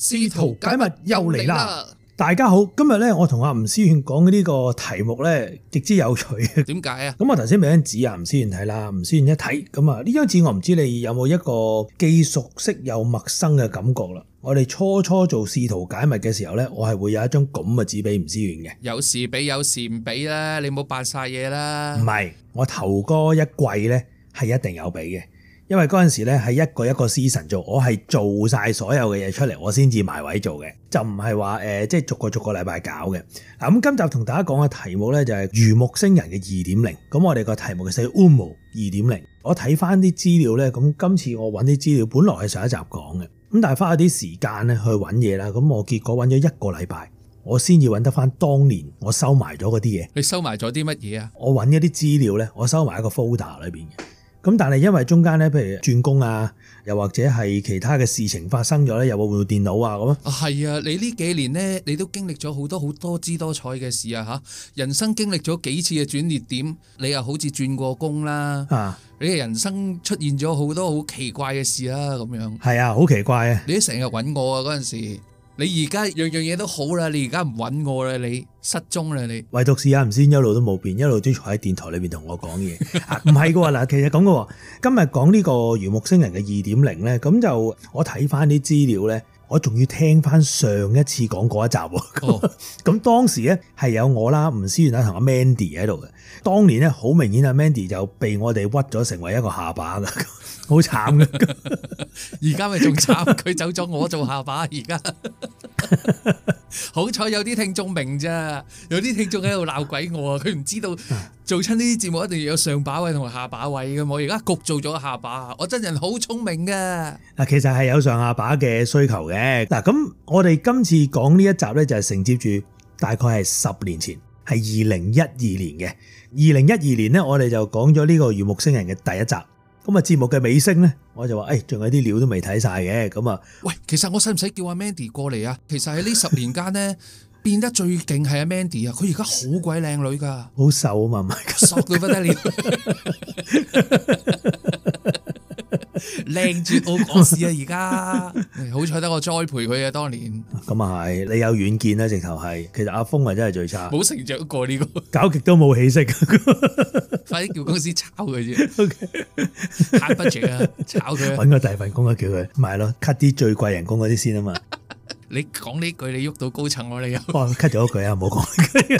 試圖解密又嚟啦！ 大家好，今日咧我同阿吳思遠講嘅呢個題目咧極之有趣。 點解啊？ 咁我頭先俾張紙阿吳思遠睇啦，吳思遠一睇咁啊，呢張紙我唔知你有冇一個既熟悉又陌生嘅感覺啦。我哋初做試圖解密嘅時候咧，我係會有一張咁嘅紙俾吳思遠嘅。 有時俾有時唔俾啦，你冇扮晒嘢啦。 唔係，我頭嗰一季咧係一定有俾嘅。因為嗰陣時咧係一個 season 做，我係做晒所有嘅嘢出嚟，我先至埋位做嘅，就唔係話即係逐個禮拜搞嘅。嗱，咁今集同大家講嘅題目咧就係魚目星人嘅 2.0， 咁我哋個題目係寫 UMO 2.0。我睇翻啲資料咧，咁今次我揾啲資料，本來係上一集講嘅，咁但係花咗啲時間咧去揾嘢啦，咁我結果揾咗一個禮拜，我先至揾得翻當年我收埋咗嗰啲嘢。 你收埋咗啲乜嘢啊？ 我揾一啲資料咧，我收埋喺個 folder 裏邊嘅。咁但係因為中間咧，譬如轉工啊，又或者係其他嘅事情發生咗咧，又會換電腦啊咁啊。 係啊，你呢幾年咧，你都經歷咗好多姿多彩嘅事啊嚇！人生經歷咗幾次嘅轉捩點，你又好似轉過工啦，你嘅人生出現咗好多好奇怪嘅事啦咁樣。 係啊，好奇怪啊！ 你都成日揾我啊嗰陣時。你而家樣嘢都好啦，你而家唔揾我啦，你失蹤啦你。 唯獨是阿吳先一路都冇變，一路都坐喺電台裏邊同我講嘢。唔係嘅喎，嗱，其實咁嘅喎，今日講呢個魚目星人嘅 2.0 咧，咁就我睇翻啲資料咧，我仲要聽翻上一次講嗰一集喎。咁當時咧係有我啦、吳思遠啦同阿 Mandy 喺度嘅。當年咧好明顯阿 Mandy 就被我哋屈咗成為一個下巴㗎。好慘嘅， 而家咪仲慘，佢走咗，我做下巴。而家好彩有啲聽眾明咋，有啲聽眾喺度鬧鬼我啊！佢唔知道做親呢啲節目一定要有上把位同埋下把位嘅，我而家焗做咗下把。我真人好聰明嘅。 嗱，其實係有上下把嘅需求嘅。嗱，咁我哋今次講呢一集咧，就係承接住大概係10年前，係2012年嘅。2012年咧，我哋就講咗呢個魚目星人嘅第一集。咁啊，節目嘅尾聲咧，我就話，仲有啲料都未睇晒嘅，咁啊， 喂，其實我使唔使叫阿 Mandy 過嚟啊？其實喺呢10年間咧，變得最勁係阿 Mandy 啊，佢而家好鬼靚女噶， 好瘦啊嘛，唔係索到不得了，靚絕我講事啊！而家好彩得我栽培佢啊，當年。 咁啊係，你有遠見啦，直頭係。其實阿峰啊真係最差， 冇成長過呢個， 搞極都冇起色。 快啲叫公司炒佢啫。慳budget啊，炒佢， 搵個第二份工啊，叫佢，咪係咯，cut 啲最貴人工嗰啲先啊嘛。 你講呢句，你喐到高層我你又 ，cut 咗句啊，唔好講。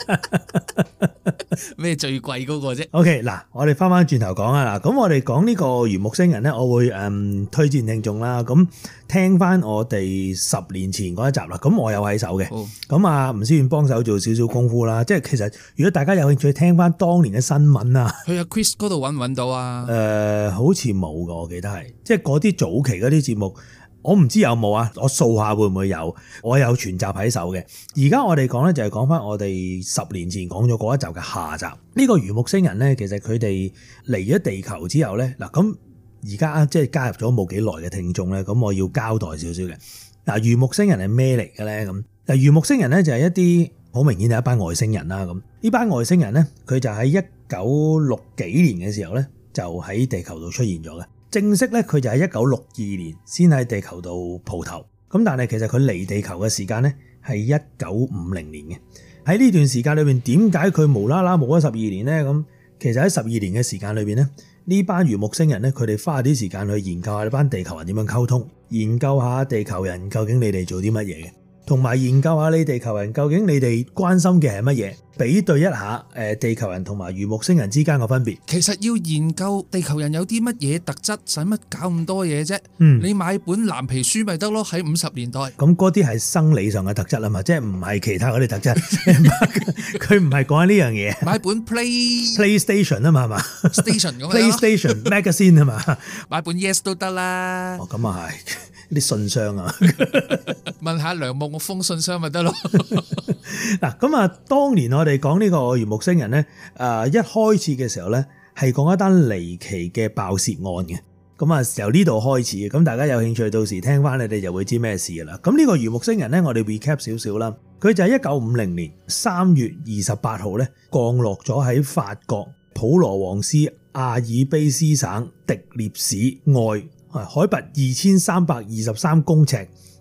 咩最貴嗰個啫 ？OK， 嗱，我哋翻轉頭講啊，嗱，咁我哋講呢個魚目星人咧，我會推薦聽眾啦，咁聽翻我哋10年前嗰一集啦，咁我有喺手嘅，咁啊吳思遠幫手做少少功夫啦，即係其實如果大家有興趣聽翻當年嘅新聞啊， 去阿 Chris 嗰度揾唔揾到啊？ 好似冇噶，我記得係，即係嗰啲早期嗰啲節目。我唔知有冇啊，我掃下會唔會有，我有全集喺手嘅。而家我哋講咧就係講翻我哋10年前講咗嗰一集嘅下集。呢個魚目星人咧，其實佢哋嚟咗地球之後咧，嗱咁而家即係加入咗冇幾耐嘅聽眾咧，咁我要交代少少嘅。嗱，魚目星人係咩嚟嘅咧？咁嗱，魚目星人咧就係一啲好明顯係一班外星人啦。咁呢班外星人咧，佢就喺1960幾年嘅時候咧，就喺地球度出現咗嘅。正式咧，佢就喺1962年先喺地球度蒲頭，咁但係其實佢嚟地球嘅時間咧係1950年嘅。喺呢段時間裏邊，點解佢無啦啦冇咗12年咧？咁其實喺12年嘅時間裏邊咧，呢班魚目星人咧，佢哋花啲時間去研究下呢班地球人點樣溝通，研究下地球人究竟你哋做啲乜嘢嘅，同埋研究下你地球人究竟你哋關心嘅係乜嘢。比對一下地球人同埋魚目星人之間嘅分別。 其實要研究地球人有啲乜嘢特質，使乜搞咁多嘢啫？你買本藍皮書咪得咯，喺50年代。 咁嗰啲係生理上嘅特質啊嘛，即係唔係其他嗰啲特質。佢唔係講緊呢樣嘢。 買本 PlayStation 啊嘛，係嘛 ？Station 咁 PlayStation Magazine 啊嘛。 買本 Yes 都得啦。 哦，咁啊係啲信箱啊。 問下梁木封信箱咪得咯。 嗱，咁啊，當年我哋講呢個魚目星人咧，一開始嘅時候咧，係講一單離奇嘅爆竊案嘅。咁啊，由呢度開始嘅，咁大家有興趣到時聽翻，你哋就會知咩事噶啦。咁呢個魚目星人咧，我哋 recap 少少啦。佢就係1950年3月28號咧，降落咗喺法國普羅旺斯阿爾卑斯省迪涅市外，海拔2323公尺。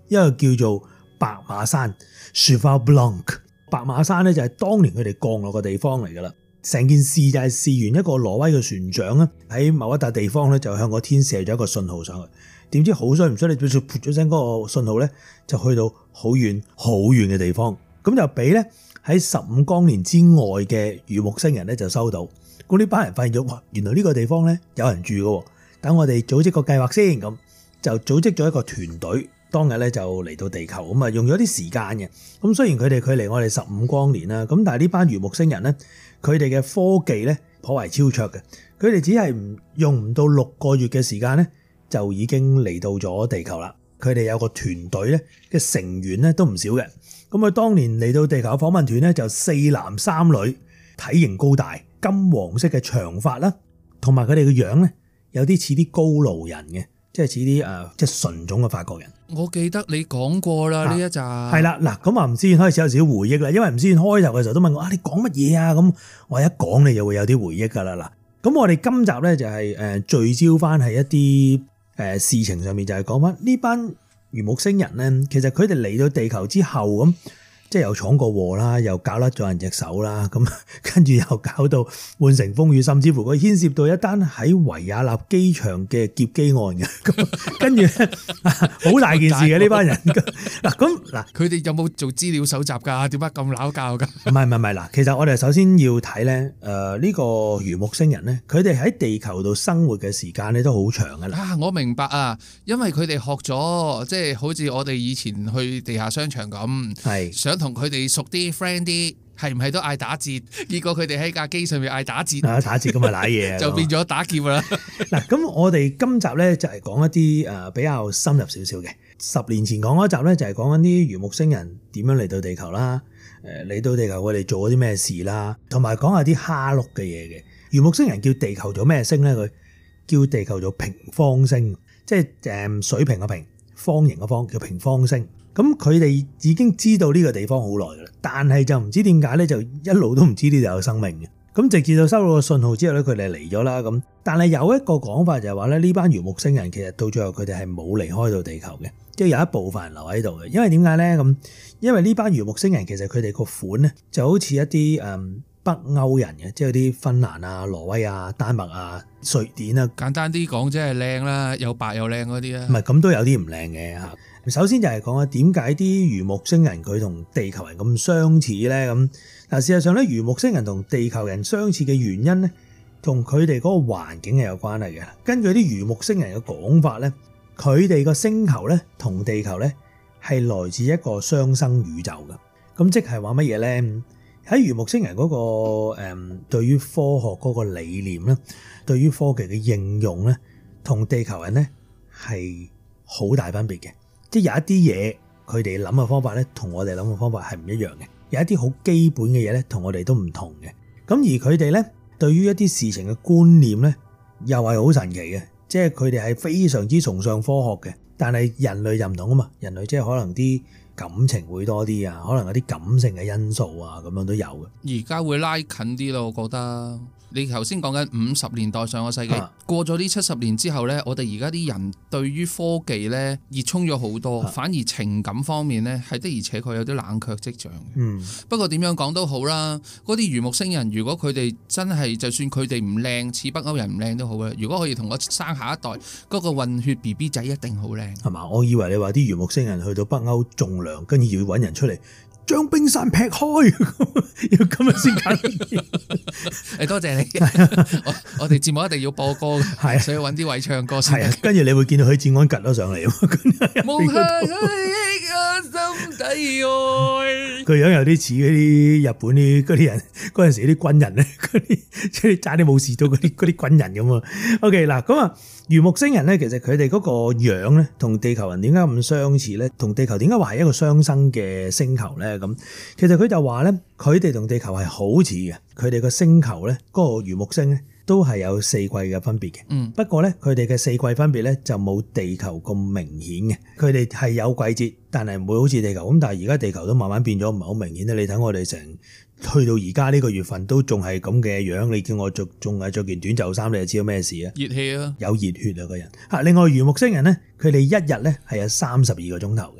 一個叫做白馬山 Cheval Blanc。白馬山咧就係當年佢哋降落嘅地方嚟噶啦。成件事就係事緣一個挪威嘅船長咧，喺某一笪地方咧就向個天射咗一個信號上去。點知好衰唔衰，你噗咗聲嗰個信號咧，就去到好遠好遠嘅地方。咁就俾咧喺15光年之外嘅魚木星人咧就收到。咁呢班人發現咗，哇！原來呢個地方咧有人住嘅。等我哋組織個計劃先，咁就組織咗一個團隊。當日咧就嚟到地球，咁啊用咗啲時間嘅。咁雖然佢哋距離我哋15光年啦，咁但係呢班魚木星人咧，佢哋嘅科技咧頗為超卓嘅。佢哋只係用唔到6個月嘅時間咧，就已經嚟到咗地球啦。佢哋有個團隊咧嘅成員咧都唔少嘅。咁啊，當年嚟到地球嘅訪問團咧就4男3女，體型高大，金黃色嘅長髮啦，同埋佢哋嘅樣咧有啲似啲高盧人嘅，即係似啲即係純種嘅法國人。 我記得你講過啦呢一集。 係啦，嗱咁啊，吳思遠開始有少少回憶啦，因為吳思遠開頭嘅時候都問我你講乜嘢啊？咁我一講你就會有啲回憶噶啦。嗱，咁我哋今集咧就係聚焦翻係一啲事情上面，就係講翻呢班魚木星人咧，其實佢哋嚟到地球之後咁，即係又闖過禍啦，又搞甩咗人隻手啦，咁跟住又搞到滿城風雨，甚至乎佢牽涉到一單喺維也納機場嘅劫機案嘅，咁跟住好大件事嘅呢班人。嗱， 佢哋有冇做資料搜集㗎？點解咁撈教㗎？ 唔係嗱，其實我哋首先要睇咧，呢個魚木星人咧，佢哋喺地球度生活嘅時間咧都好長㗎啦。 我明白啊，因為佢哋學咗，即係好似我哋以前去地下商場咁，係想同佢哋熟啲 friend 啲，係唔係都嗌打折？結果佢哋喺架機上面嗌打折， 打折咁啊瀨嘢， 就變咗打劫啦。 嗱，咁我哋今集咧就係講一啲比較深入少少嘅。10年前講嗰集咧就係講緊啲魚木星人點樣嚟到地球啦，嚟到地球佢哋做咗啲咩事啦，同埋講下啲蝦碌嘅嘢嘅。魚木星人叫地球做咩星咧？佢叫地球做平方星，即係水平嘅平，方形嘅方，叫平方星。咁佢哋已經知道呢個地方好耐噶啦，但係就唔知點解咧，就一路都唔知呢度有生命嘅。咁直至到收到個信號之後咧，佢哋嚟咗啦。咁但係有一個講法就係話咧，呢班魚木星人其實到最後佢哋係冇離開到地球嘅，即係有一部分人留喺度嘅。因為點解咧？咁因為呢班魚木星人其實佢哋個款咧就好似一啲北歐人嘅，即係啲芬蘭啊、挪威啊、丹麥啊、瑞典啊。簡單啲講，即係靚啦，又白又靚嗰啲啊。唔係咁都有啲唔靚嘅嚇。首先就係講下點解啲魚木星人佢同地球人咁相似咧？咁嗱，事實上咧，魚木星人同地球人相似嘅原因咧，同佢哋嗰個環境係有關係嘅。根據啲魚木星人嘅講法咧，佢哋個星球咧同地球咧係來自一個雙生宇宙嘅。咁即係話乜嘢咧？喺魚木星人嗰個對於科學嗰個理念咧，對於科技嘅應用咧，同地球人咧係好大分別嘅。即係有一啲嘢，佢哋諗嘅方法咧，同我哋諗嘅方法係唔一樣嘅。有一啲好基本嘅嘢咧，同我哋都唔同嘅。咁而佢哋咧，對於一啲事情嘅觀念咧，又係好神奇嘅。即係佢哋係非常之崇尚科學嘅。但係人類就唔同啊嘛，人類即係可能啲感情會多啲啊，可能有啲感性嘅因素啊，咁樣都有嘅。而家會拉近啲咯，我覺得。你頭先講緊50年代上個世紀，過咗呢70年之後呢，我哋而家啲人對於科技呢熱衷咗好多，反而情感方面呢係的而且確有啲冷卻跡象。不過點樣講都好啦，嗰啲魚木星人如果佢哋真係就算佢哋唔靚，似北歐人唔靚都好啦，如果可以同我生下一代嗰個混血 BB 仔一定好靚，係嘛？我以為你話啲魚木星人去到北歐種糧，跟住要揾人出嚟將冰山劈開，要咁樣先揀。多謝你，我哋節目一定要播歌嘅，所以揾啲位唱歌先。跟住你會見到許志安趌咗上嚟。無限嘅心底愛，佢樣有啲似嗰啲日本啲嗰啲人，嗰陣時啲軍人咧，嗰啲即係差啲武士道嗰啲軍人咁啊。OK 嗱，咁啊。魚木星人咧，其實佢哋嗰個樣咧，同地球人點解咁相似咧？同地球點解話係一個雙生嘅星球咧？咁其實佢就話咧，佢哋同地球係好似嘅，佢哋個星球咧，嗰個魚木星咧，都係有4季嘅分別嘅。不過咧，佢哋嘅4季分別咧就冇地球咁明顯嘅。佢哋係有季節，但係唔會好似地球咁。但係而家地球都慢慢變咗，唔係好明顯咧。你睇我哋去到而家呢個月份都仲係咁嘅樣，你叫我仲係着件短袖衫，你就知道咩事啊？熱氣啊，有熱血啊個人。另外魚木星人咧，佢哋一日咧係有32個鐘頭嘅。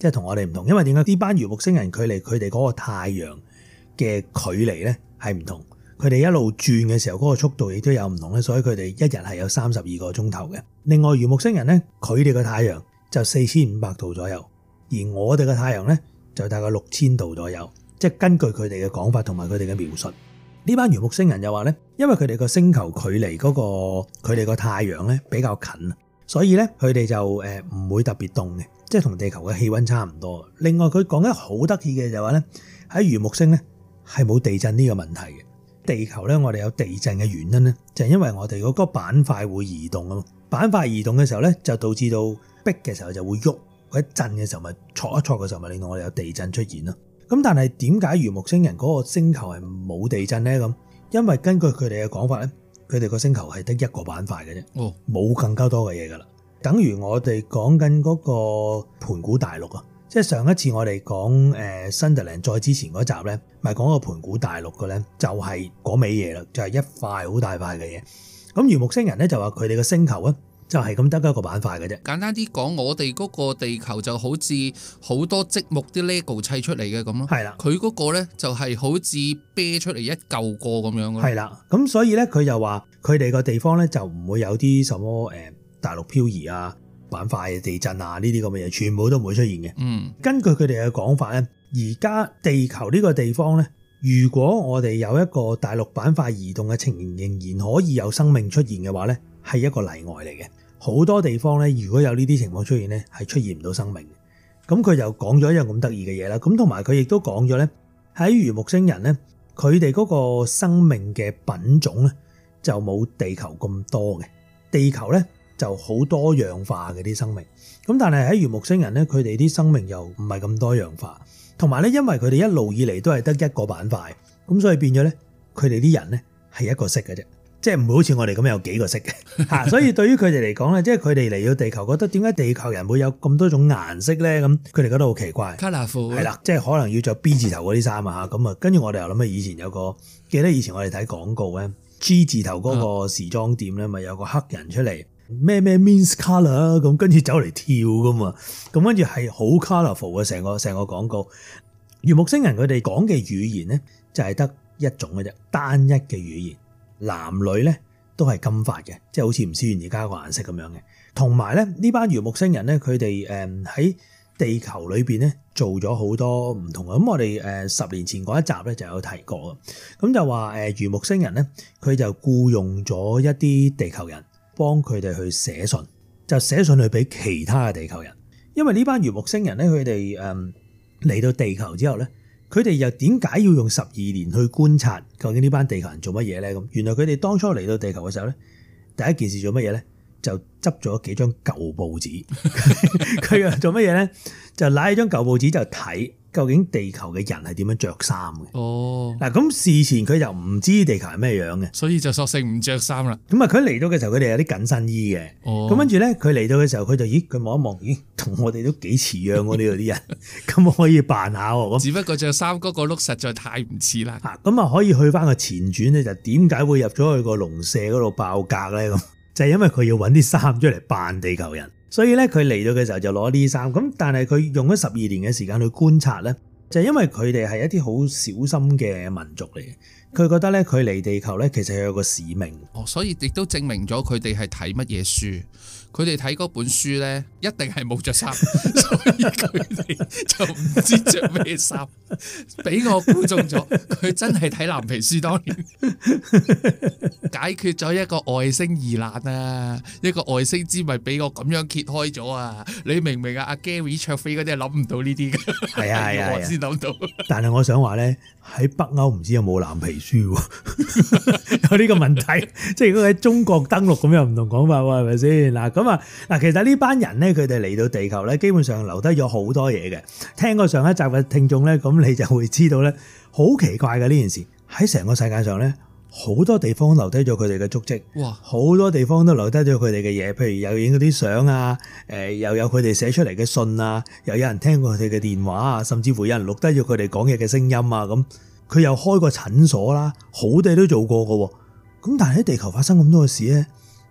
即係同我哋唔同。因為點解呢班魚木星人距離佢哋嗰個太陽嘅距離咧係唔同，佢哋一路轉嘅時候嗰個速度亦都有唔同咧，所以佢哋一日係有32個鐘頭嘅。另外魚木星人咧，佢哋嘅太陽就4500度左右，而我哋嘅太陽咧就大概6000度左右。即係根據佢哋嘅講法同埋佢哋嘅描述，呢班魚木星人就話咧，因為佢哋個星球距離嗰個佢哋個太陽咧比較近，所以咧佢哋就唔會特別凍嘅，即係同地球嘅氣溫差唔多。另外佢講得好得意嘅就係話咧，喺魚木星咧係冇地震呢個問題嘅。地球咧我哋有地震嘅原因咧，就係因為我哋嗰個板塊會移動啊嘛，板塊移動嘅時候咧就導致到逼嘅時候就會喐，或者震嘅時候咪挫一挫嘅時候咪令到我哋有地震出現咯。咁但係點解魚木星人嗰個星球係冇地震咧？咁因為根據佢哋嘅講法咧，佢哋個星球係得一個板塊嘅啫，冇更加多嘅嘢噶啦。等於我哋講緊嗰個盤古大陸啊，即係上一次我哋講Sunderland 再之前嗰集咧，咪講個盤古大陸嘅咧，就係嗰味嘢啦，就係一塊好大塊嘅嘢。咁魚木星人咧就話佢哋嘅星球啊，就係咁得一個板塊嘅啫。 簡單啲講，我哋嗰個地球就好似好多積木啲 LEGO 砌出嚟嘅咁咯。係啦，佢嗰個咧就係好似啤出嚟一嚿個咁樣咯。係啦， 咁所以咧佢就話佢哋個地方咧就唔會有啲什麼大陸漂移啊、板塊地震啊呢啲咁嘅嘢，全部都唔會出現嘅。根據佢哋嘅講法咧，而家地球呢個地方咧，如果我哋有一個大陸板塊移動嘅情形，仍然可以有生命出現嘅話咧，係一個例外嚟嘅。好多地方咧，如果有呢啲情況出現咧，係出現唔到生命嘅。咁佢就講咗一樣咁得意嘅嘢啦。咁同埋佢亦都講咗咧，喺魚木星人咧，佢哋嗰個生命嘅品種咧就冇地球咁多嘅。地球咧就好多樣化嘅啲生命。咁但係喺魚木星人咧，佢哋啲生命又唔係咁多樣化。同埋咧，因為佢哋一路以嚟都係得一個板塊，咁所以變咗咧，佢哋啲人咧係一個色嘅啫。即係唔會好似我哋咁有幾個色嘅嚇，所以對於佢哋嚟講咧，即係佢哋嚟到地球，覺得點解地球人會有咁多種顏色咧？咁佢哋覺得好奇怪。 Colourful 係啦，即係可能要着 B 字頭嗰啲衫啊嚇，咁啊，跟住我哋又諗起以前有個記得以前我哋睇廣告咧 G 字頭嗰個時裝店咧，咪有個黑人出嚟咩 means colour 咁，跟住走嚟跳噶嘛，咁跟住係好 colourful 嘅成個廣告。魚木星人佢哋講嘅語言咧，就係得一種嘅啫，單一嘅語言。男女咧都係金髮嘅，即係好似吳思遠而家個顏色咁樣嘅。同埋咧呢班魚木星人咧，佢哋喺地球裏邊咧做咗好多唔同嘅。咁我哋10年前嗰一集咧就有提過，咁就話魚木星人咧佢就僱用咗一啲地球人幫佢哋去寫信，就寫信去俾其他嘅地球人。因為呢班魚木星人咧，佢哋嚟到地球之後咧，佢哋又點解要用12年去觀察究竟呢班地球人做乜嘢咧？咁原來佢哋當初嚟到地球嘅時候咧，第一件事做乜嘢咧？就執咗幾張舊報紙，佢又做乜嘢咧？就攞起張舊報紙就睇究竟地球嘅人係點樣着衫嘅。哦，嗱咁事前佢就唔知地球係咩樣嘅， 所以就索性唔着衫啦。 咁啊，佢嚟到嘅時候，佢哋有啲緊身衣嘅。哦，咁跟住咧，佢嚟到嘅時候，佢就佢望一望，咦，同我哋都幾似樣喎呢度啲人，咁我可以扮下喎。 只不過着衫嗰個 look 實在太唔似啦。 咁啊可以去翻個前傳咧，就點解會入咗去個農舍嗰度爆格咧？咁就係因為佢要揾啲衫出嚟扮地球人。所以咧，佢嚟到嘅時候就攞啲衫，咁但係佢用咗12年嘅時間去觀察咧，就係因為佢哋係一啲好小心嘅民族嚟嘅。佢覺得咧，佢嚟地球咧，其實係有個使命。 哦，所以亦都證明咗佢哋係睇乜嘢書。佢哋睇嗰本書咧，一定係冇着衫，所以佢哋就唔知着咩衫。俾我估中咗，佢真係睇藍皮書當年，解決咗一個外星疑難啊！一個外星之謎俾我咁樣揭開咗啊！你明唔明啊？阿 Gary 卓飛嗰啲係諗唔到呢啲嘅， 係啊， 我先諗到。 但係我想話咧，喺北歐唔知有冇藍皮書喎？有呢個問題，即係如果喺中國登陸咁又唔同講法喎，係咪先？嗱，其實呢班人咧，佢哋嚟到地球咧，基本上留低咗好多嘢嘅。聽過上一集嘅聽眾咧，咁你就會知道咧，好奇怪嘅呢件事喺成個世界上咧，好多地方留低咗佢哋嘅足跡。哇！好多地方都留低咗佢哋嘅嘢，譬如有影嗰啲相啊，又有佢哋寫出嚟嘅信啊，又有人聽過佢哋嘅電話啊，甚至乎有人錄低咗佢哋講嘢嘅聲音啊，咁佢又開過診所啦，好地都做過㗎喎。咁但係喺地球發生咁多嘅事咧，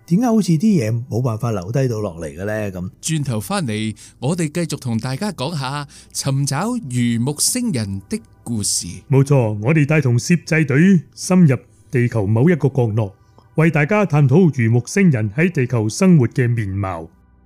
點解好似啲嘢冇辦法留低到落嚟嘅咧？咁轉頭翻嚟，我哋繼續同大家講下尋找魚木星人的故事。 冇錯，我哋帶同攝製隊深入地球某一個角落，為大家探討魚木星人喺地球生活嘅面貌。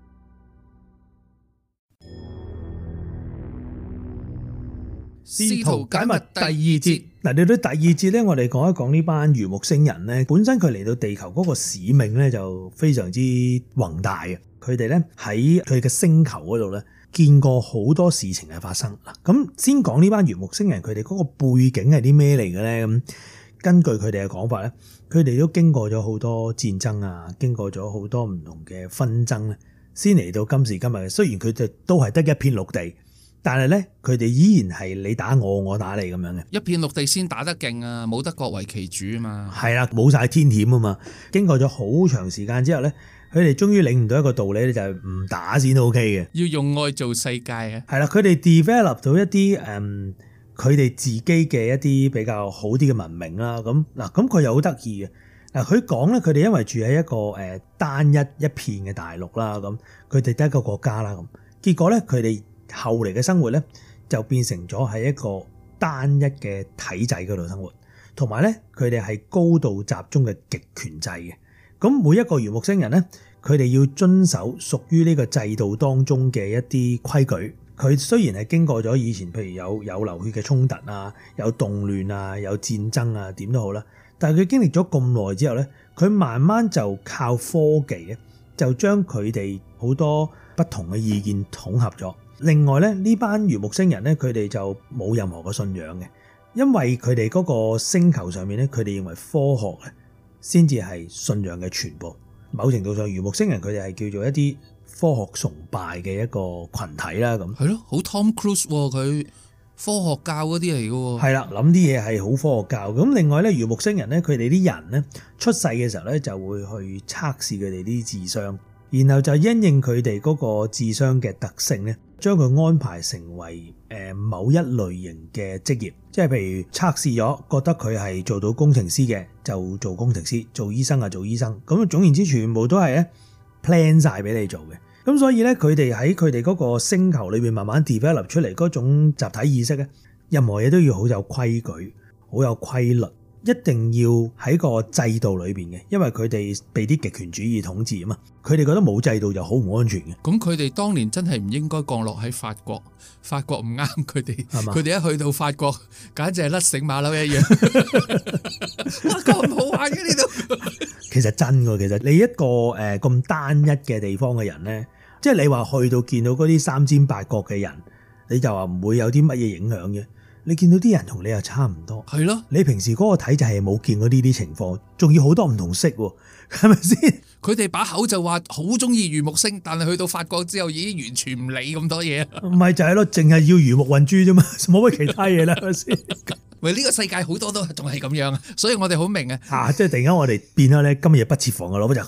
試圖解密第二節。嗱，嚟到第二節咧，我哋講一講呢班魚木星人咧，本身佢嚟到地球嗰個使命咧就非常之宏大嘅。佢哋咧喺佢嘅星球嗰度咧見過好多事情嘅發生。咁先講呢班魚木星人佢哋嗰個背景係啲咩嚟嘅咧？咁根據佢哋嘅講法咧，佢哋都經過咗好多戰爭啊，經過咗好多唔同嘅紛爭咧，先嚟到今時今日嘅。雖然佢哋都係得一片綠地，但係咧，佢哋依然係你打我，我打你咁樣嘅。 一片綠地先打得勁啊，冇得各為其主啊嘛。 係啦，冇晒天險啊嘛。經過咗好長時間之後咧，佢哋終於領悟到一個道理咧，就係唔打先 OK 嘅。 要用愛做世界啊。 係啦，佢哋 develop 到一啲佢哋自己嘅一啲比較好啲嘅文明啦。咁嗱，咁佢又好得意嘅。嗱，佢講咧，佢哋因為住喺一個單一片嘅大陸啦，咁佢哋得一個國家啦，咁結果咧，佢哋後嚟嘅生活咧，就變成咗喺一個單一嘅體制嗰度生活，同埋咧佢哋係高度集中嘅極權制嘅。咁每一個魚木星人咧，佢哋要遵守屬於呢個制度當中嘅一啲規矩。佢雖然係經過咗以前譬如有流血嘅衝突啊，有動亂啊，有戰爭啊，點都好啦，但係佢經歷咗咁耐之後咧，佢慢慢就靠科技咧，就將佢哋好多不同嘅意見統合咗。另外咧，呢班魚木星人咧，佢哋就冇任何嘅信仰嘅，因為佢哋嗰個星球上面咧，佢哋認為科學咧先至係信仰嘅全部。某程度上，魚木星人佢哋係叫做一啲科學崇拜嘅一個群體啦。咁係咯，好 Tom Cruise 佢科學教嗰啲嚟嘅。係啦，諗啲嘢係好科學教。咁另外咧，魚木星人咧，佢哋啲人咧出世嘅時候咧，就會去測試佢哋啲智商，然後就因應佢哋嗰個智商嘅特性咧，將佢安排成為某一類型嘅職業，即係譬如測試咗覺得佢係做到工程師嘅，就做工程師；做醫生啊，做醫生。咁總言之，全部都係咧 plan 晒俾你做嘅。咁所以咧，佢哋喺佢哋嗰個星球裏邊慢慢 develop 出嚟嗰種集體意識咧，任何嘢都要好有規矩，好有規律。一定要喺個制度裏邊嘅，因為佢哋被啲極權主義統治啊嘛，佢哋覺得冇制度就好唔安全嘅。 咁佢哋當年真係唔應該降落喺法國，法國唔啱佢哋，佢哋一去到法國，簡直係甩繩馬騮一樣。法國唔好玩嘅呢度。 其實真㗎，其實你一個咁單一嘅地方嘅人咧，即係你話去到見到嗰啲三尖八角嘅人，你就話唔會有啲乜嘢影響嘅。你見到啲人同你又差唔多， 係咯。 你平時嗰個體制係冇見過呢啲情況，仲要好多唔同色喎，係咪先？ 佢哋把口就話好中意魚木星，但係去到法國之後已經完全唔理咁多嘢。 唔係就係咯，淨係要魚木混珠啫嘛，冇乜其他嘢啦，係咪先？ 喂，呢個世界好多都仲係咁樣啊，所以我哋好明啊。 即係突然間我哋變咗咧，今日不設防嘅老闆就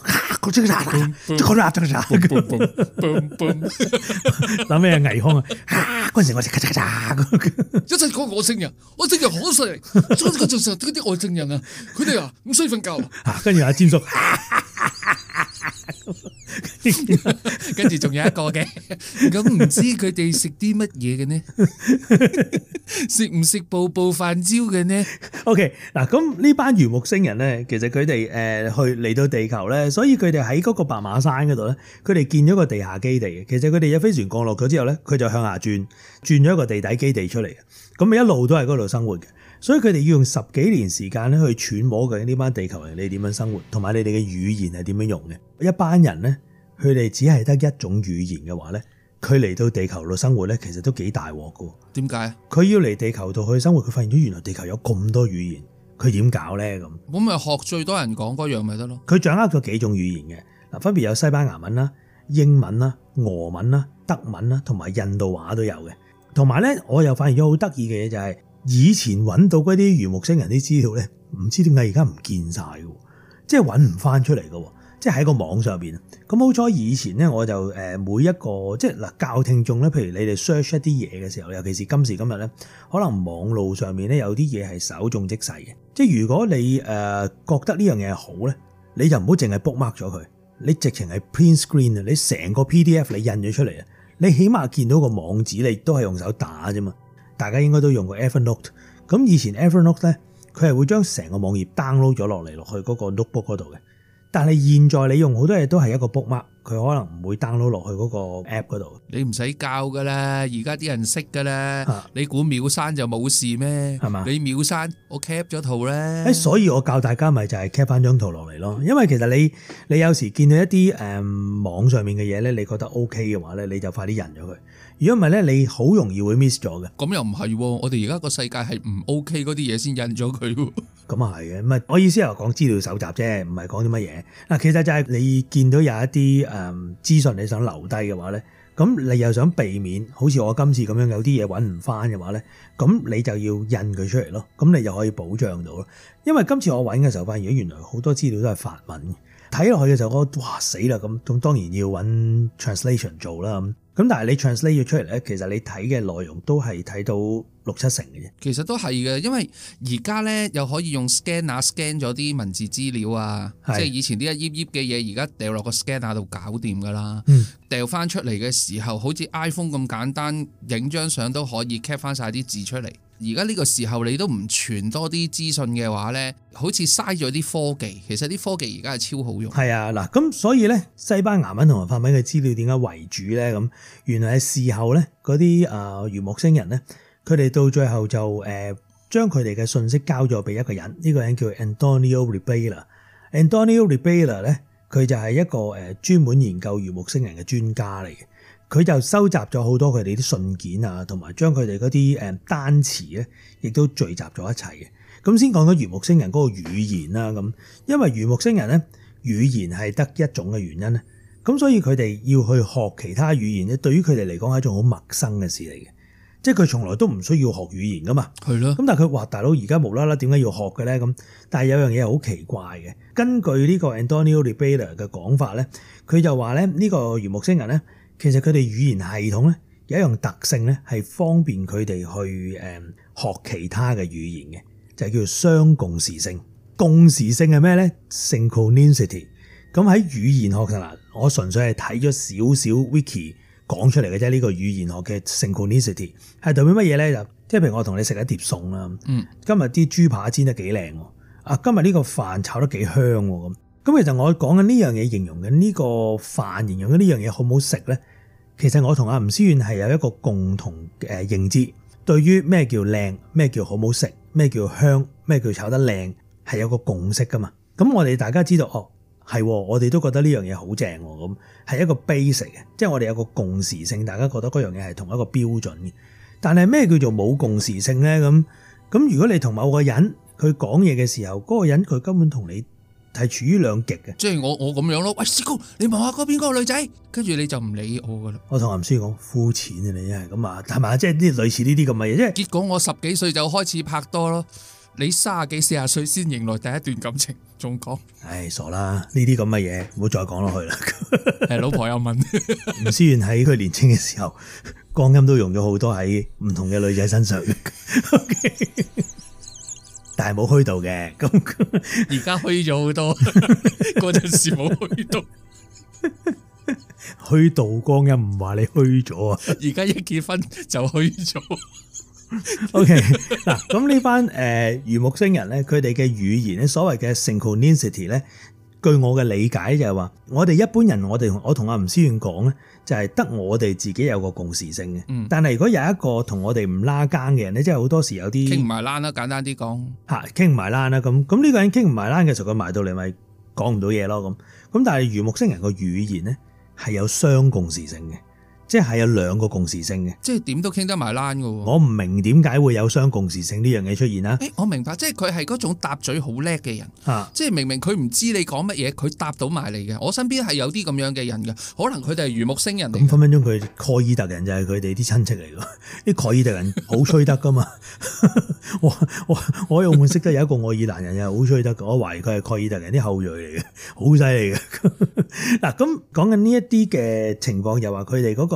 諗咩倪匡啊？嗰陣時我食咔嚓嚓， 一陣講外星人，外星人好犀利，所以嗰陣時嗰啲外星人啊，佢哋啊唔需要瞓覺。 跟住阿詹叔， 跟住仲有一個嘅，咁唔知佢哋食啲乜嘢嘅呢？食唔食步步飯焦嘅呢 ？OK， 嗱，咁呢班魚木星人咧，其實佢哋去嚟到地球咧，所以佢哋喺嗰個白馬山嗰度咧，佢哋建咗個地下基地嘅。其實佢哋有飛船降落咗之後咧，佢就向下轉咗一個地底基地出嚟嘅。咁咪一路都喺嗰度生活嘅。所以佢哋要用10幾年時間咧去揣摩緊呢班地球人你點樣生活，同埋你哋嘅語言係點樣用嘅。一班人咧，佢哋只係得一種語言嘅話咧，佢嚟到地球度生活咧，其實都幾大鑊㗎。 點解？佢要嚟地球度去生活，佢發現咗原來地球有咁多語言，佢點搞咧咁？ 咁咪學最多人講嗰樣咪得咯？ 佢掌握咗幾種語言嘅，嗱，分別有西班牙文啦、英文啦、俄文啦、德文啦，同埋印度話都有嘅。同埋咧，我又發現咗好得意嘅嘢就係，以前揾到嗰啲魚木星人啲資料咧，唔知點解而家唔見晒嘅，即係揾唔翻出嚟嘅，即係喺個網上邊。咁好彩以前咧，我就每一個即係嗱教聽眾咧，譬如你哋 search 一啲嘢嘅時候，尤其是今時今日咧，可能網路上面咧有啲嘢係稍縱即逝嘅。即係如果你覺得呢樣嘢係好咧，你就唔好淨係 bookmark 咗佢， 你直情係 print screen 啊，你成個 PDF 你印咗出嚟啊，你起碼見到個網址，你都係用手打啫嘛。大家應該都用過 Evernote， 咁以前 Evernote 咧，佢係會將成個網頁 download 咗落嚟落去嗰個 notebook 嗰度嘅。但係現在你用好多嘢都係一個 bookmark，佢可能唔會 download 落去嗰個 app 嗰度。 你唔使教噶啦，而家啲人識噶啦。你估秒刪就冇事咩？係嘛？你秒刪，我 cap 咗圖咧。 所以我教大家咪就係 cap 翻張圖落嚟咯。因為其實你有時見到一啲網上面嘅嘢咧，你覺得 OK 嘅話咧，你就快啲印咗佢。如果唔係咧，你好容易會 miss 咗嘅。 咁又唔係喎，我哋而家個世界係唔 OK 嗰啲嘢先印咗佢喎。 咁啊係嘅，唔係我意思係講資料搜集啫，唔係講啲乜嘢。嗱，其實就係你見到有一啲資訊你想留低嘅話咧，咁你又想避免好似我今次咁樣有啲嘢揾唔翻嘅話咧，咁你就要印佢出嚟咯。咁你就可以保障到咯。因為今次我揾嘅時候發現，原來好多資料都係法文，睇落去嘅時候我哇死啦咁當然要揾 translation 做啦咁但係你 translate 咗出嚟咧，其實你睇嘅內容都係睇到6-7成嘅啫。 其實都係嘅，因為而家咧又可以用 scanner scan 咗啲文字資料啊，即係以前啲一頁頁嘅嘢，而家掉落個 scanner 度搞掂噶啦。掉翻出嚟嘅時候，好似 iPhone 咁簡單，影張相都可以 cap 翻晒啲字出嚟。而家呢個時候你都唔傳多啲資訊嘅話呢，好似嘥咗啲科技。其實啲科技而家係超好用。係啊， 嗱，咁所以呢，西班牙文同埋法文嘅資料點解為主呢？咁原來係事後呢，嗰啲魚木星人呢，佢哋到最後就將佢哋嘅信息交咗俾一個人，呢個人叫 Antonio Rebela。Antonio Rebela 呢，佢就係一個專門研究魚木星人嘅專家嚟嘅。佢就收集咗好多佢哋啲信件啊，同埋將佢哋嗰啲單詞咧，亦都聚集咗一齊嘅。咁先講到魚木星人嗰個語言啦，咁因為魚木星人咧語言係得一種嘅原因咧，咁所以佢哋要去學其他語言咧，對於佢哋嚟講係一種好陌生嘅事嚟嘅，即係佢從來都唔需要學語言噶嘛。係咯。咁但係佢話大佬而家無啦啦點解要學嘅咧？咁但係有樣嘢係好奇怪嘅，根據呢個 Antonio Rebela 嘅講法咧，佢就話咧呢個魚木星人咧。其實佢哋語言系統咧有一樣特性咧，係方便佢哋去學其他嘅語言嘅，就係叫做雙共時性。共時性係咩咧 ？Synchronicity。咁喺語言學上啦，我純粹係睇咗少少 wiki 講出嚟嘅啫。呢個語言學嘅 synchronicity 係代表乜嘢咧？就即係譬如我同你食一碟餸啦，今日啲豬扒煎得幾靚喎，啊今日呢個飯炒得幾香喎咁。咁其實我講緊呢樣嘢，形容緊呢個飯，形容緊呢樣嘢好唔好食咧？其實我同阿吳思遠係有一個共同嘅認知，對於咩叫靚，咩叫好唔好食，咩叫香，咩叫炒得靚，係有個共識噶嘛。咁我哋大家知道，係我哋都覺得呢樣嘢好正喎，咁係一個 basic 嘅，即係我哋有個共時性，大家覺得嗰樣嘢係同一個標準嘅。但係咩叫做冇共時性咧？咁如果你同某個人佢講嘢嘅時候，嗰個人佢根本同你係處於兩極嘅， 即係我咁樣咯。喂，師公，你望下嗰邊嗰個女仔，跟住你就唔理我噶啦。 我同阿吳書講膚淺啊，你真係咁啊，係咪？即係啲類似呢啲咁嘅嘢，即係結果我10幾歲就開始拍拖咯，你30幾40歲先迎來第一段感情，仲講？唉， 傻啦！呢啲咁嘅嘢唔好再講落去啦。 係老婆又問， 吳思遠喺佢年輕嘅時候，光陰都用咗好多喺唔同嘅女仔身上。Okay 但係冇虛度嘅，咁而家虛咗好多，嗰陣時冇虛度， 虛度光陰唔話你虛咗啊！ 而家一結婚就虛咗。 OK 嗱，咁呢班魚木星人咧，佢哋嘅語言咧，所謂嘅 synchronicity 咧，據我嘅理解就係話，我哋一般人，我同阿吳思遠講咧，就係得我哋自己有個共時性嘅。但係如果有一個同我哋唔拉更嘅人咧，即係好多時有啲傾唔埋欄啦，簡單啲講嚇，傾唔埋欄啦。咁呢個人傾唔埋欄嘅時候，佢埋到嚟咪講唔到嘢咯。咁但係魚木星人個語言咧係有雙共時性嘅。即係有兩個共時性嘅， 即係點都傾得埋欄㗎喎。 我唔明點解會有雙共時性呢樣嘢出現啦。 我明白，即係佢係嗰種搭嘴好叻嘅人，即係明明佢唔知你講乜嘢，佢答到埋嚟嘅。我身邊係有啲咁樣嘅人嘅，可能佢哋係魚木星人嚟。咁分分鐘佢蓋爾特人就係佢哋啲親戚嚟㗎。啲蓋爾特人好吹得㗎嘛。我喺澳門識得有一個愛爾蘭人又好吹得，我懷疑佢係蓋爾特人啲後裔嚟嘅，好犀利嘅。嗱，咁講緊呢一啲嘅情況，又話佢哋嗰個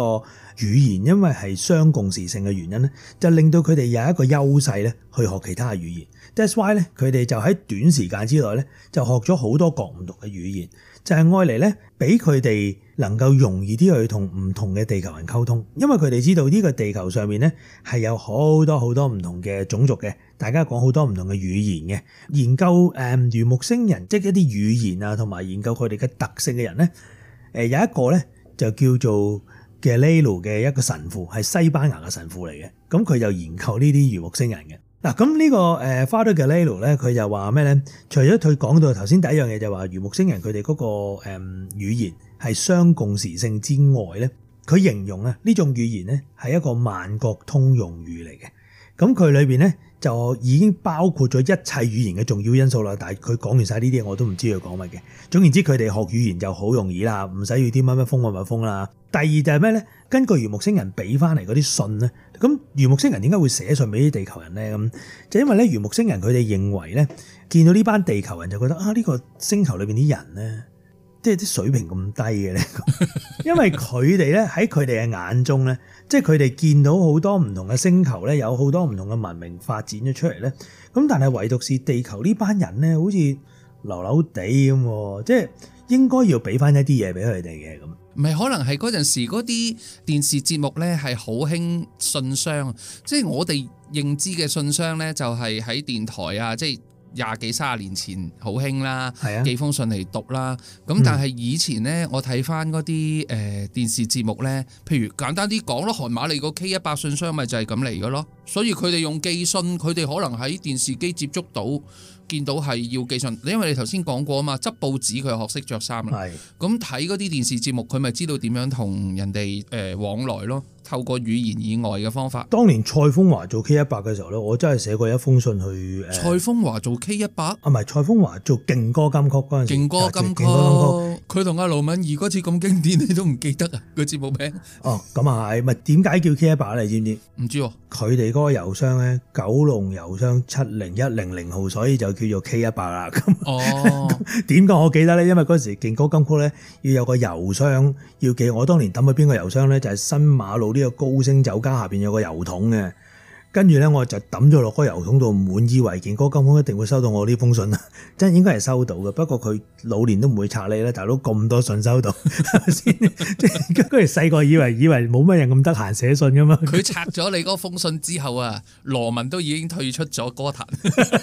語言因為係雙共時性嘅原因咧，就令到佢哋有一個優勢咧去學其他嘅語言。That's why 咧，佢哋就喺短時間之內咧就學咗好多各唔同嘅語言，就係愛嚟咧俾佢哋能夠容易啲去同唔同嘅地球人溝通，因為佢哋知道呢個地球上面咧係有好多好多唔同嘅種族嘅，大家講好多唔同嘅語言嘅。研究魚木星人即係一啲語言啊，同埋研究佢哋嘅特性嘅人咧，有一個咧就叫做 Galileo 嘅一個神父，係西班牙嘅神父嚟嘅。咁佢就研究呢啲魚木星人嘅。嗱，咁呢個Father Galileo咧，佢就話咩咧？除咗佢講到頭先第一樣嘢就話魚木星人佢哋嗰個語言係雙共時性之外咧，佢形容啊呢種語言咧係一個萬國通用語嚟嘅。咁佢裏邊咧就已經包括咗一切語言嘅重要因素啦。但係佢講完晒呢啲嘢，我都唔知佢講乜嘅。總言之，佢哋學語言就好容易啦，唔使要啲乜乜風乜乜風啦。第二就係咩咧？根據魚木星人俾翻嚟嗰啲信咧，咁魚木星人點解會寫信俾啲地球人咧？咁就因為咧魚木星人佢哋認為咧，見到呢班地球人就覺得啊，呢個星球裏邊啲人咧，即係啲水平咁低嘅咧，因為佢哋咧喺佢哋嘅眼中咧，即係佢哋見到好多唔同嘅星球咧，有好多唔同嘅文明發展咗出嚟咧，咁但係唯獨是地球呢班人咧，好似流流地咁，即係應該要俾翻一啲嘢俾佢哋嘅咁。 唔係，可能係嗰陣時嗰啲電視節目咧係好興信箱，即係我哋認知嘅信箱咧就係喺電台啊，即係20幾30年前好興啦，寄封信嚟讀啦。咁但係以前咧，我睇翻嗰啲電視節目咧，譬如簡單啲講咯，韓瑪利個 K100信箱咪就係咁嚟嘅咯。所以佢哋用寄信，佢哋可能喺電視機接觸到，見到係要寄信，因為你頭先講過啊嘛，執報紙佢學識着衫啦。咁睇嗰啲電視節目，佢咪知道點樣同人哋往來咯。透過語言以外嘅方法。當年蔡楓華做 K100嘅時候咧，我真係寫過一封信去蔡楓華做 K100？ 啊，唔係蔡楓華做勁歌金曲嗰陣時。勁歌金曲， 佢同阿盧敏儀嗰次咁經典，你都唔記得啊？個節目名？ 哦，咁啊係，咪點解叫 K100 你知唔知？ 唔知喎。 佢哋嗰個郵箱咧，九龍郵箱70100號，所以就叫做 K100啦。咁哦， 點解我記得咧？因為嗰時勁歌金曲咧要有個郵箱要寄，我當年抌去邊個郵箱咧？就係新馬路呢個高升酒家下邊有個郵筒嘅，跟住咧我就抌咗落個郵筒度，滿以為勁歌金曲一定會收到我呢封信啦，真係應該係收到嘅。不過佢老年都唔會拆你啦，大佬咁多信收到，先即係嗰時細個以為冇乜人咁得閒寫信噶嘛。 佢拆咗你嗰封信之後啊，羅文都已經退出咗歌壇，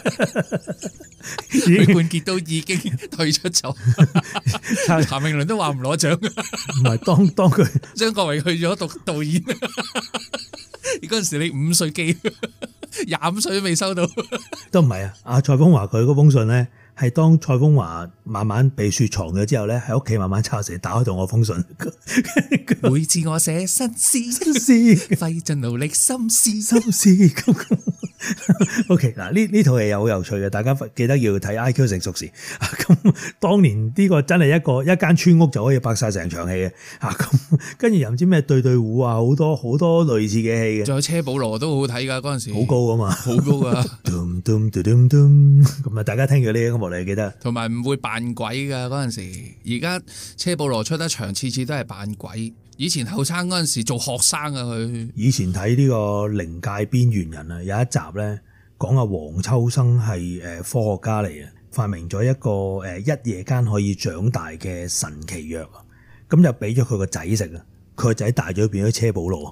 許冠傑都已經退出咗，譚詠麟都話唔攞獎。 唔係當佢張國榮去咗讀導演，嗰陣時你5歲幾，25歲都未收到。 都唔係啊！阿蔡楓華佢嗰封信咧，係當蔡楓華慢慢被雪藏咗之後咧，喺屋企慢慢抄寫，打開到我封信。 每次我寫新詩，費盡努力心思。 OK， 嗱呢套戲又好有趣嘅，大家記得要睇 IQ 成熟時。咁當年呢個真係一間村屋就可以拍晒成場戲嘅。咁跟住又唔知咩對胡啊，好多類似嘅戲嘅。 仲有車保羅都好好睇㗎，嗰陣時。 好高啊嘛， 好高㗎。 咁啊，大家聽住呢個音樂你記得。 同埋唔會扮鬼㗎嗰陣時，而家車保羅出得場，次次都係扮鬼。以前後生嗰陣時做學生啊佢。 以前睇呢個靈界邊緣人啊，有一集咧講阿黃秋生係科學家嚟嘅，發明咗一個一夜間可以長大嘅神奇藥啊，咁就俾咗佢個仔食啊。佢個仔大咗變咗車保羅，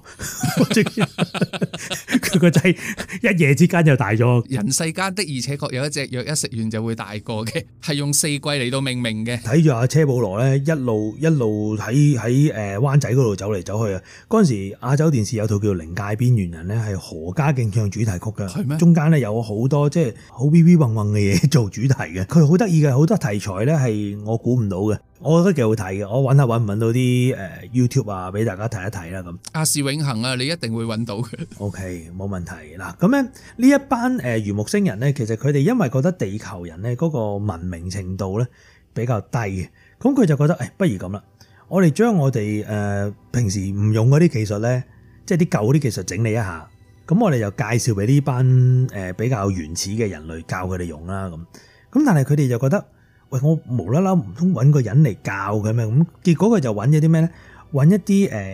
佢個仔一夜之間就大咗。 人世間的而且確有一隻藥，一食完就會大個嘅，係用4季嚟到命名嘅。 睇住阿車保羅咧，一路喺灣仔嗰度走嚟走去啊！嗰陣時亞洲電視有套叫《靈界邊緣人》咧，係何家勁唱主題曲㗎。 係咩？ 中間咧有好多即係好 V V 混混嘅嘢做主題嘅。佢好得意嘅，好多題材咧係我估唔到嘅。我覺得幾好睇嘅，我揾下揾唔揾到啲YouTube 啊，俾大家睇一睇啦咁。亞視永恆啊，你一定會揾到嘅。 OK，冇問題嗱。咁咧呢一班魚木星人咧，其實佢哋因為覺得地球人咧嗰個文明程度咧比較低嘅，咁佢就覺得不如咁啦，我哋將我哋平時唔用嗰啲技術咧，即係啲舊啲技術整理一下，咁我哋就介紹俾呢班比較原始嘅人類教佢哋用啦咁。咁但係佢哋就覺得，喂，我無啦啦唔通揾個人嚟教嘅咩？咁結果佢就揾咗啲咩咧？揾一啲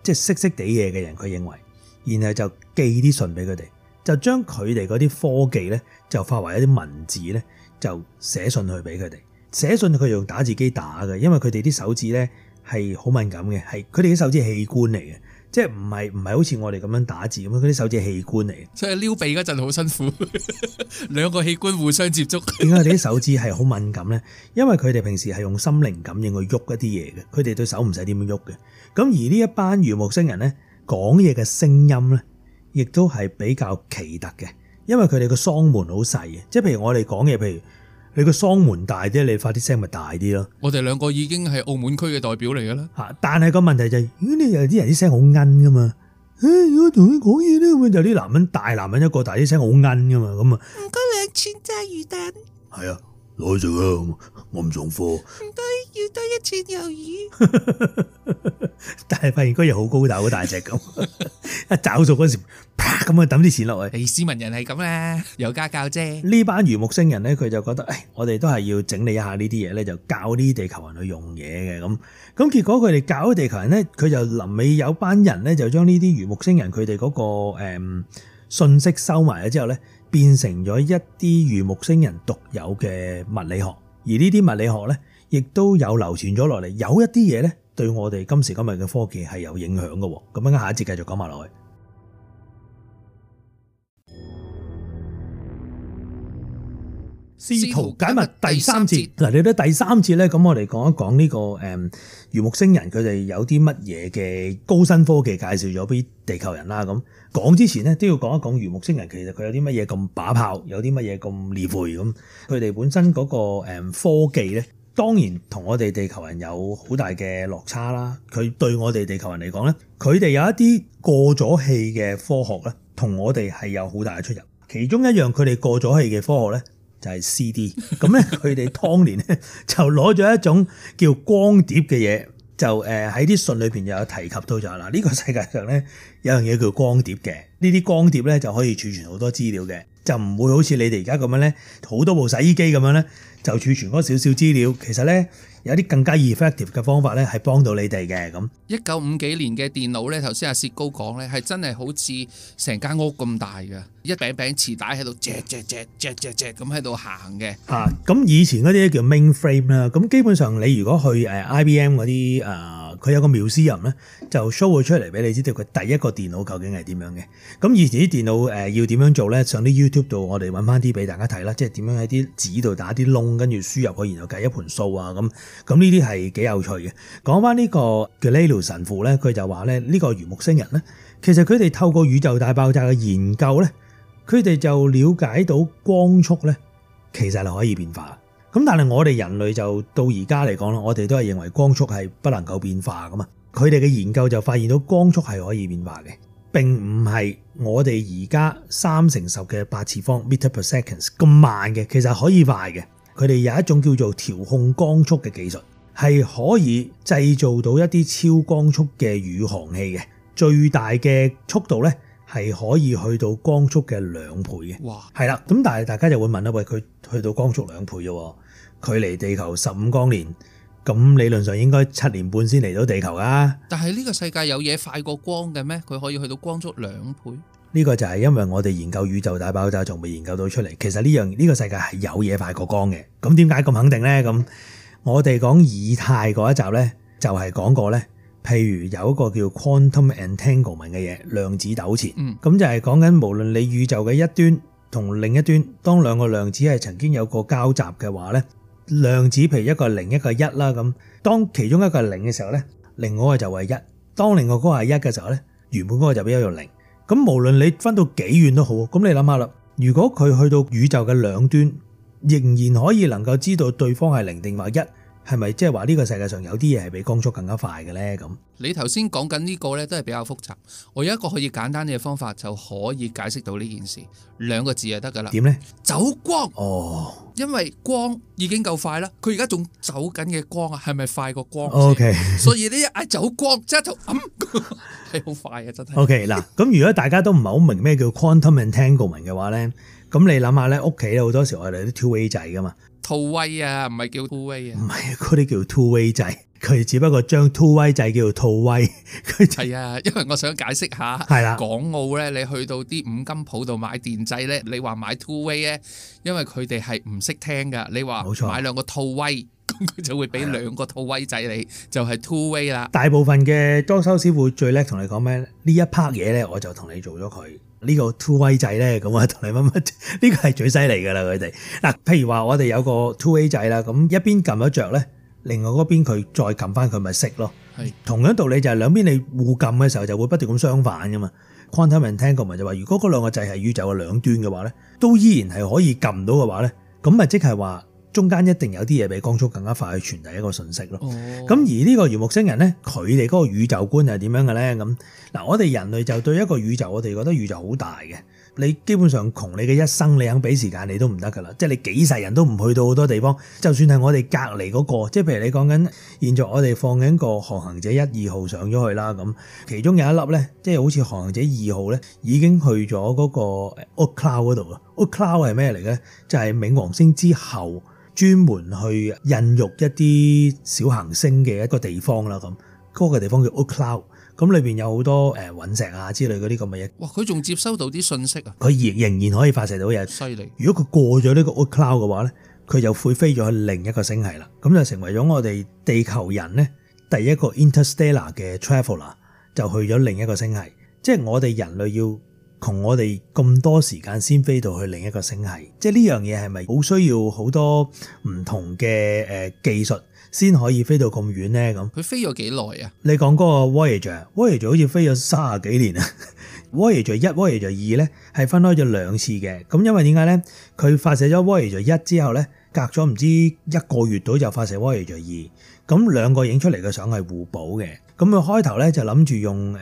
即係識地嘢嘅人，佢認為，然後就寄啲信俾佢哋，就將佢哋嗰啲科技咧就化為一啲文字咧，就寫信去俾佢哋。寫信佢用打字機打嘅，因為佢哋啲手指咧係好敏感嘅，係佢哋啲手指係器官嚟嘅。即係唔係好似我哋咁樣打字咁樣，嗰啲手指係器官嚟嘅。 所以撩鼻嗰陣好辛苦，兩個器官互相接觸。 點解佢哋啲手指係好敏感咧？因為佢哋平時係用心靈感應去喐一啲嘢嘅，佢哋對手唔使點樣喐嘅。咁而呢一班魚木星人咧講嘢嘅聲音咧，亦都係比較奇特嘅，因為佢哋個嗓門好細嘅，即係譬如我哋講嘢，譬如你個嗓門大啲，你發啲聲咪大啲咯。 我哋兩個已經係澳門區嘅代表嚟㗎啦。 嚇！但係個問題就係，如果你有啲人啲聲好奀噶嘛，如果同佢講嘢咧，咁就啲男人大男人一個，但係啲聲好奀噶嘛，咁啊。唔該2串炸魚蛋。係啊，攞去食啊！我唔送貨。唔該，要多1串魷魚。但係發現嗰嘢好高大，好大隻咁，一找數嗰時，啪咁啊抌啲錢落去。 斯文人係咁啦，有家教啫。 呢班魚木星人咧，佢就覺得，我哋都係要整理一下呢啲嘢咧，就教啲地球人去用嘢嘅咁。咁結果佢哋教啲地球人咧，佢就臨尾有班人咧，就將呢啲魚木星人佢哋嗰個信息收埋咗之後咧，變成咗一啲魚木星人獨有嘅物理學。而呢啲物理學咧，亦都有流傳咗落嚟，有一啲嘢咧，對我哋今時今日嘅科技係有影響嘅。咁樣下一節繼續講埋落去。試圖解密第三節。嗱，嚟到第三節咧，咁我哋講一講呢個魚木星人佢哋有啲乜嘢嘅高新科技介紹咗俾地球人啦。咁講之前咧，都要講一講魚木星人其實佢有啲乜嘢咁把炮，有啲乜嘢咁離譜咁。佢哋本身嗰個科技咧，當然同我哋地球人有好大嘅落差啦。佢對我哋地球人嚟講咧，佢哋有一啲過咗氣嘅科學咧，同我哋係有好大嘅出入。其中一樣佢哋過咗氣嘅科學咧，就係 CD。咁咧，佢哋當年咧就攞咗一種叫光碟嘅嘢，就喺啲信裏邊又有提及到就係呢個世界上咧有樣嘢叫光碟嘅。呢啲光碟咧就可以儲存好多資料嘅，就唔會好似你哋而家咁樣咧，好多部洗衣機咁樣咧就儲存嗰少少資料。其實咧有啲更加 effective 嘅方法咧係幫到你哋嘅。咁 1950幾年嘅電腦咧，頭先阿薛高講咧係真係好似成間屋咁大嘅，一餅餅磁帶喺度隻咁喺度行嘅。 咁以前嗰啲叫 mainframe 啦。咁基本上你如果去IBM 嗰啲佢有個 museum 咧，就 show 佢出嚟俾你知道佢第一個電腦究竟係點樣嘅。咁以前啲電腦要點樣做咧？上啲 YouTube 度我哋揾翻啲俾大家睇啦，即係點樣喺啲紙度打啲窿，跟住輸入去，然後計一盤數啊咁。咁呢啲係幾有趣嘅。講翻呢個嘅 Galileo 神父咧，佢就話咧呢個魚木星人咧，其實佢哋透過宇宙大爆炸嘅研究咧，佢哋就了解到光速咧其實係可以變化。咁但係我哋人類就到而家嚟講啦，我哋都係認為光速係不能夠變化噶嘛。佢哋嘅研究就發現到光速係可以變化嘅，並唔係我哋而家3×10嘅8次方 meter per seconds 咁慢嘅，其實可以快嘅。佢哋有一種叫做調控光速嘅技術，係可以製造到一啲超光速嘅宇航器嘅，最大嘅速度咧係可以去到光速嘅2倍嘅。哇！係啦，咁但係大家就會問啦，喂，佢去到光速2倍啫，距離地球15光年，咁理論上應該7年半先嚟到地球啊。但係呢個世界有嘢快過光嘅咩？佢可以去到光速2倍？呢個就係因為我哋研究宇宙大爆炸仲未研究到出嚟。其實呢個世界係有嘢快過光嘅。咁點解咁肯定呢？咁我哋講以太嗰一集呢，就係講過呢，譬如有一個叫 quantum entanglement 嘅嘢，量子糾纏。咁就係講緊無論你宇宙嘅一端同另一端，當兩個量子係曾經有個交集嘅話呢，量子譬如一個0一個1啦，咁當其中一個係0嘅時候呢，另外一個就係1。當另外嗰個係1嘅時候呢，原本嗰個就變咗做0。咁無論你分到幾遠都好，咁你諗下啦，如果佢去到宇宙嘅兩端，仍然可以能夠知道對方係0定或1，係咪即係話呢個世界上有啲嘢係比光速更加快嘅咧？咁你頭先講緊呢個咧都係比較複雜，我有一個可以簡單嘅方法就可以解釋到呢件事，2個字就得噶啦。點咧？走光。哦，因為光已經夠快啦，佢而家仲走緊嘅光啊，係咪快過光 ？OK， 所以呢一嗌走光，即係就係好快嘅真係。OK， 嗱，咁如果大家都唔係好明咩叫 quantum entanglement 嘅話咧，咁你諗下咧，屋企咧好多時我哋啲 two way 掣噶嘛。two way 啊，唔係叫 two way 啊，唔係嗰啲叫 two way 掣。 佢只不過將 two 威制叫做套威，佢就係啊，因為我想解釋下， 係啦港澳咧，你去到啲五金鋪度買電掣咧，你話買 two way 咧，因為佢哋係唔識聽噶，你話冇錯買兩個套威，咁佢就會俾兩個套威掣你，就係 two way 啦。 大部分嘅裝修師傅最叻同你講咩？呢一 part 嘢咧，我就同你做咗佢。呢個 two way 掣咧，咁啊同你乜乜，呢個係最犀利噶啦佢哋。嗱，譬如話我哋有個 two way 掣啦，咁一邊撳咗着咧，另外嗰邊佢再撳翻佢咪熄咯。 係同樣道理就係兩邊你互撳嘅時候就會不斷咁相反噶嘛。Quantum entanglement就話，如果嗰兩個掣係宇宙嘅兩端嘅話咧，都依然係可以撳到嘅話咧，咁咪即係話中間一定有啲嘢比光速更加快去傳遞一個信息咯。咁而呢個魚木星人咧，佢哋嗰個宇宙觀係點樣嘅咧？咁嗱，我哋人類就對一個宇宙，我哋覺得宇宙好大嘅。你基本上窮你嘅一生，你肯俾時間你都唔得噶啦。即係你幾世人都唔去到好多地方。就算係我哋隔離嗰個，即係譬如你講緊現在我哋放緊個航行者1、2號上咗去啦，咁其中有一粒咧，即係好似航行者2號咧，已經去咗嗰個 Oort cloud 嗰度啊。Oort cloud 係咩嚟嘅？就係冥王星之後專門去孕育一啲小行星嘅一個地方啦。咁嗰個地方叫 Oort cloud。咁裏邊有好多隕石啊之類嗰啲咁嘅嘢。 哇！佢仲接收到啲信息啊！ 佢仍然可以發射到嘢。 犀利！ 如果佢過咗呢個 Oort cloud 嘅話咧，佢就會飛咗去另一個星系啦。咁就成為咗我哋地球人咧第一個 interstellar 嘅 traveler， 就去咗另一個星系。即係我哋人類要窮我哋咁多時間先飛到去另一個星系。即係呢樣嘢係咪好需要好多唔同嘅技術先可以飛到咁遠咧？咁佢飛咗幾耐啊？ 你講嗰個 Voyager 好似飛咗30幾年啊。Voyager 1、Voyager 2咧係分開咗兩次嘅。咁因為點解咧？佢發射咗 Voyager 1之後咧，隔咗唔知1個月到就發射 Voyager 2。咁兩個影出嚟嘅相係互補嘅。咁佢開頭咧就諗住用